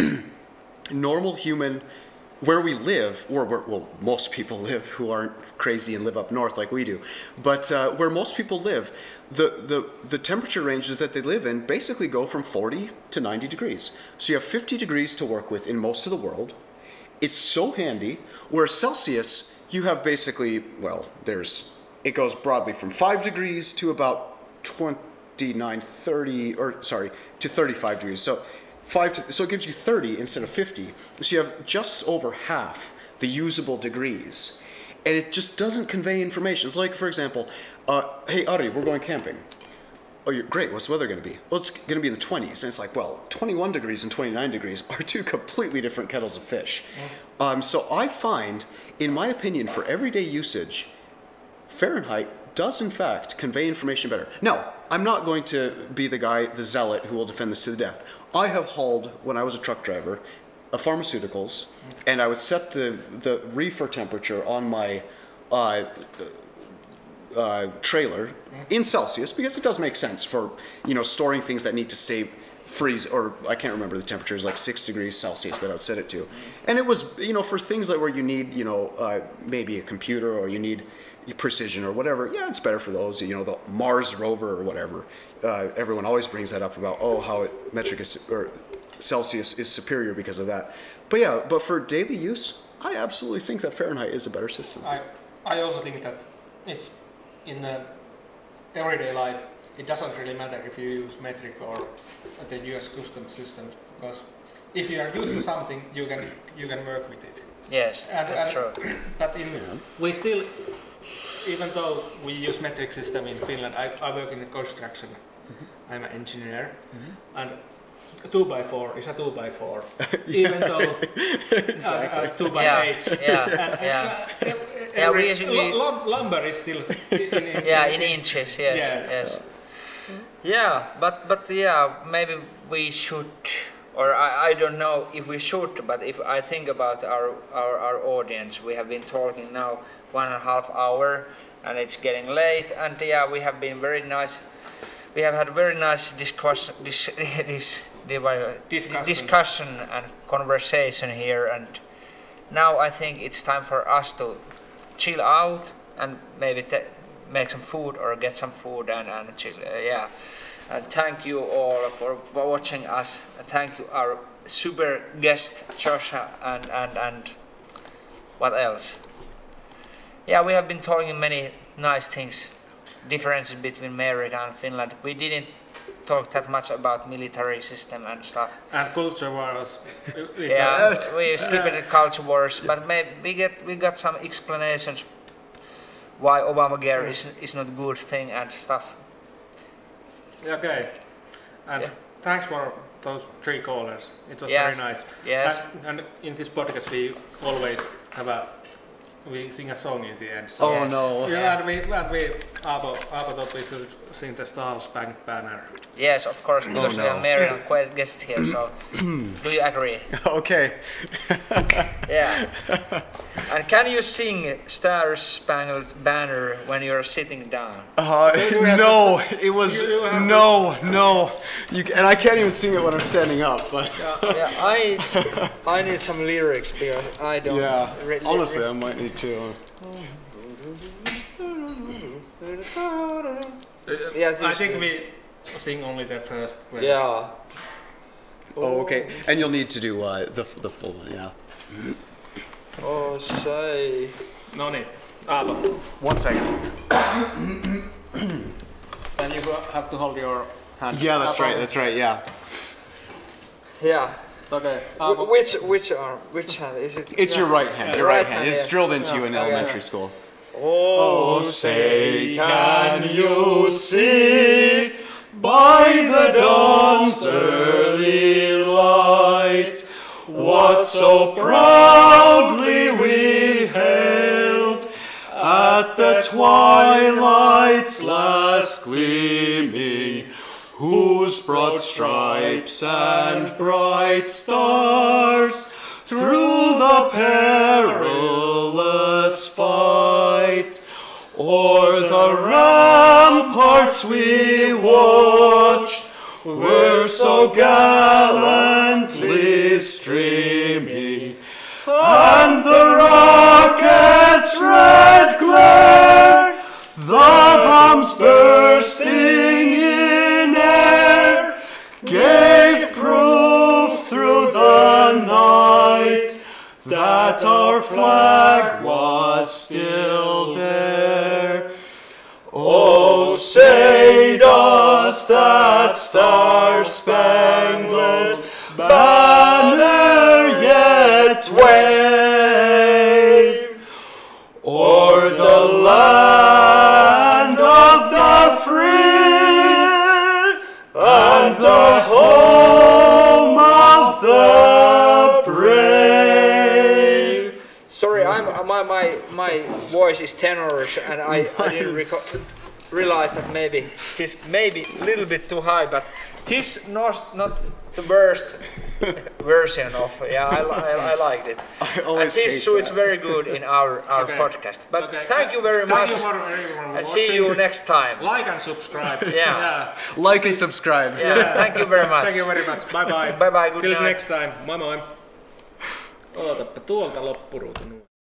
normal human, where we live, or where, well, most people live who aren't crazy and live up north like we do, but uh, where most people live, the, the, the temperature ranges that they live in basically go from forty to ninety degrees. So you have fifty degrees to work with in most of the world. It's so handy, where Celsius, you have basically, well, there's, it goes broadly from five degrees to about twenty-nine, thirty, or sorry, to thirty-five degrees. So Five to, so it gives you thirty instead of fifty. So you have just over half the usable degrees. And it just doesn't convey information. It's like, for example, uh, hey, Ari, we're going camping. Oh, you're great. What's the weather going to be? Well, it's going to be in the twenties. And it's like, well, twenty-one degrees and twenty-nine degrees are two completely different kettles of fish. Yeah. Um, so I find, in my opinion, for everyday usage, Fahrenheit does in fact convey information better. Now, I'm not going to be the guy, the zealot, who will defend this to the death. I have hauled, when I was a truck driver, uh, pharmaceuticals, and I would set the, the reefer temperature on my uh, uh, trailer in Celsius, because it does make sense for, you know, storing things that need to stay freeze, or I can't remember the temperature, is like six degrees Celsius that I would set it to. And it was, you know, for things like where you need, you know, uh, maybe a computer, or you need precision or whatever, yeah, it's better for those, you know, the Mars rover or whatever. Uh, everyone always brings that up about, oh, how it, metric is, or Celsius is superior because of that. But yeah, but for daily use, I absolutely think that Fahrenheit is a better system. I, I also think that it's in uh, everyday life, it doesn't really matter if you use metric or the U S custom system, because if you are used to something, you can you can work with it. Yes, and, that's and, true. But in, we still, even though we use metric system in Finland, I, I work in construction. Mm-hmm. I'm an engineer, mm-hmm. and a two by four is a two by four, even though exactly. uh, uh, two by yeah. eight. Yeah, and, yeah. Uh, yeah, we usually l- lumber is still in, in, yeah, in inches. Yes, yeah. yes. Yeah, but but yeah, maybe we should, or I, I don't know if we should, but if I think about our, our, our audience, we have been talking now one and a half hour, and it's getting late, and yeah, we have been very nice. We have had very nice discussion, this, this, discussion. discussion and conversation here, and now I think it's time for us to chill out and maybe te- make some food or get some food and, and chill. Uh, yeah, and thank you all for, for watching us. And thank you our super guest Joshua and and and what else? Yeah, we have been talking many nice things. Differences between America and Finland. We didn't talk that much about military system and stuff. And culture wars. Yeah, we skipped the culture wars, but maybe we get we got some explanations why Obamacare is is not a good thing and stuff. Okay, and yeah. thanks for those three callers. It was Yes. very nice. Yes. And, and in this podcast, we always have a we sing a song in the end. So Oh Yes. no. yeah, and we and we Aapo, Aapo thought we should sing the Stars Bank banner. Yes, of course, because we no. have Marian que- guest here. So, do you agree? Okay. Yeah. And can you sing Star Spangled Banner when you're sitting down? Uh, you have no, it was you- you have no, no. You, and I can't even sing it when I'm standing up. But Yeah, yeah. I I need some lyrics because I don't. yeah, re- li- honestly, I might need to. Yeah, I this think way. we sing only the first verse. Yeah. Oh, okay. And you'll need to do uh, the the full one. Yeah. Oh, say. No niin, Aapo. One second. Then you go- have to hold your hand. Yeah, that's Aapo. right. That's right. Yeah. Yeah. Okay, Wh- Aapo. which which arm? Which hand is it? It's your right hand. Your Right right hand. hand, It's yeah. drilled into you in Yeah, elementary yeah. school. Oh, say, can you see by the dawn's early light what so proudly we hailed at the twilight's last gleaming, whose broad stripes and bright stars through the perilous fight o'er the ramparts we watched were so gallantly streaming, and the rocket's red glare, the bombs bursting in air, gave proof through the night that our flag was still there. Oh, say does that star-spangled banner yet wave o'er the land of the free and the home of the brave? sorry, I'm my my my voice is tenorish, and I, I didn't reco- realize that maybe this maybe a little bit too high, but this not not the worst version of yeah. I, li- I, I liked it. I And always this hate suits that. very good in our our Okay. podcast. But Okay. thank you very Thank much, you for everyone and see watching. you next time. Like and subscribe. Yeah. Like and subscribe. Yeah, thank you very much. Thank you very much. Bye bye. Bye bye, good Till night. next time. Moi moi. Ootappa tuolta loppuruutu.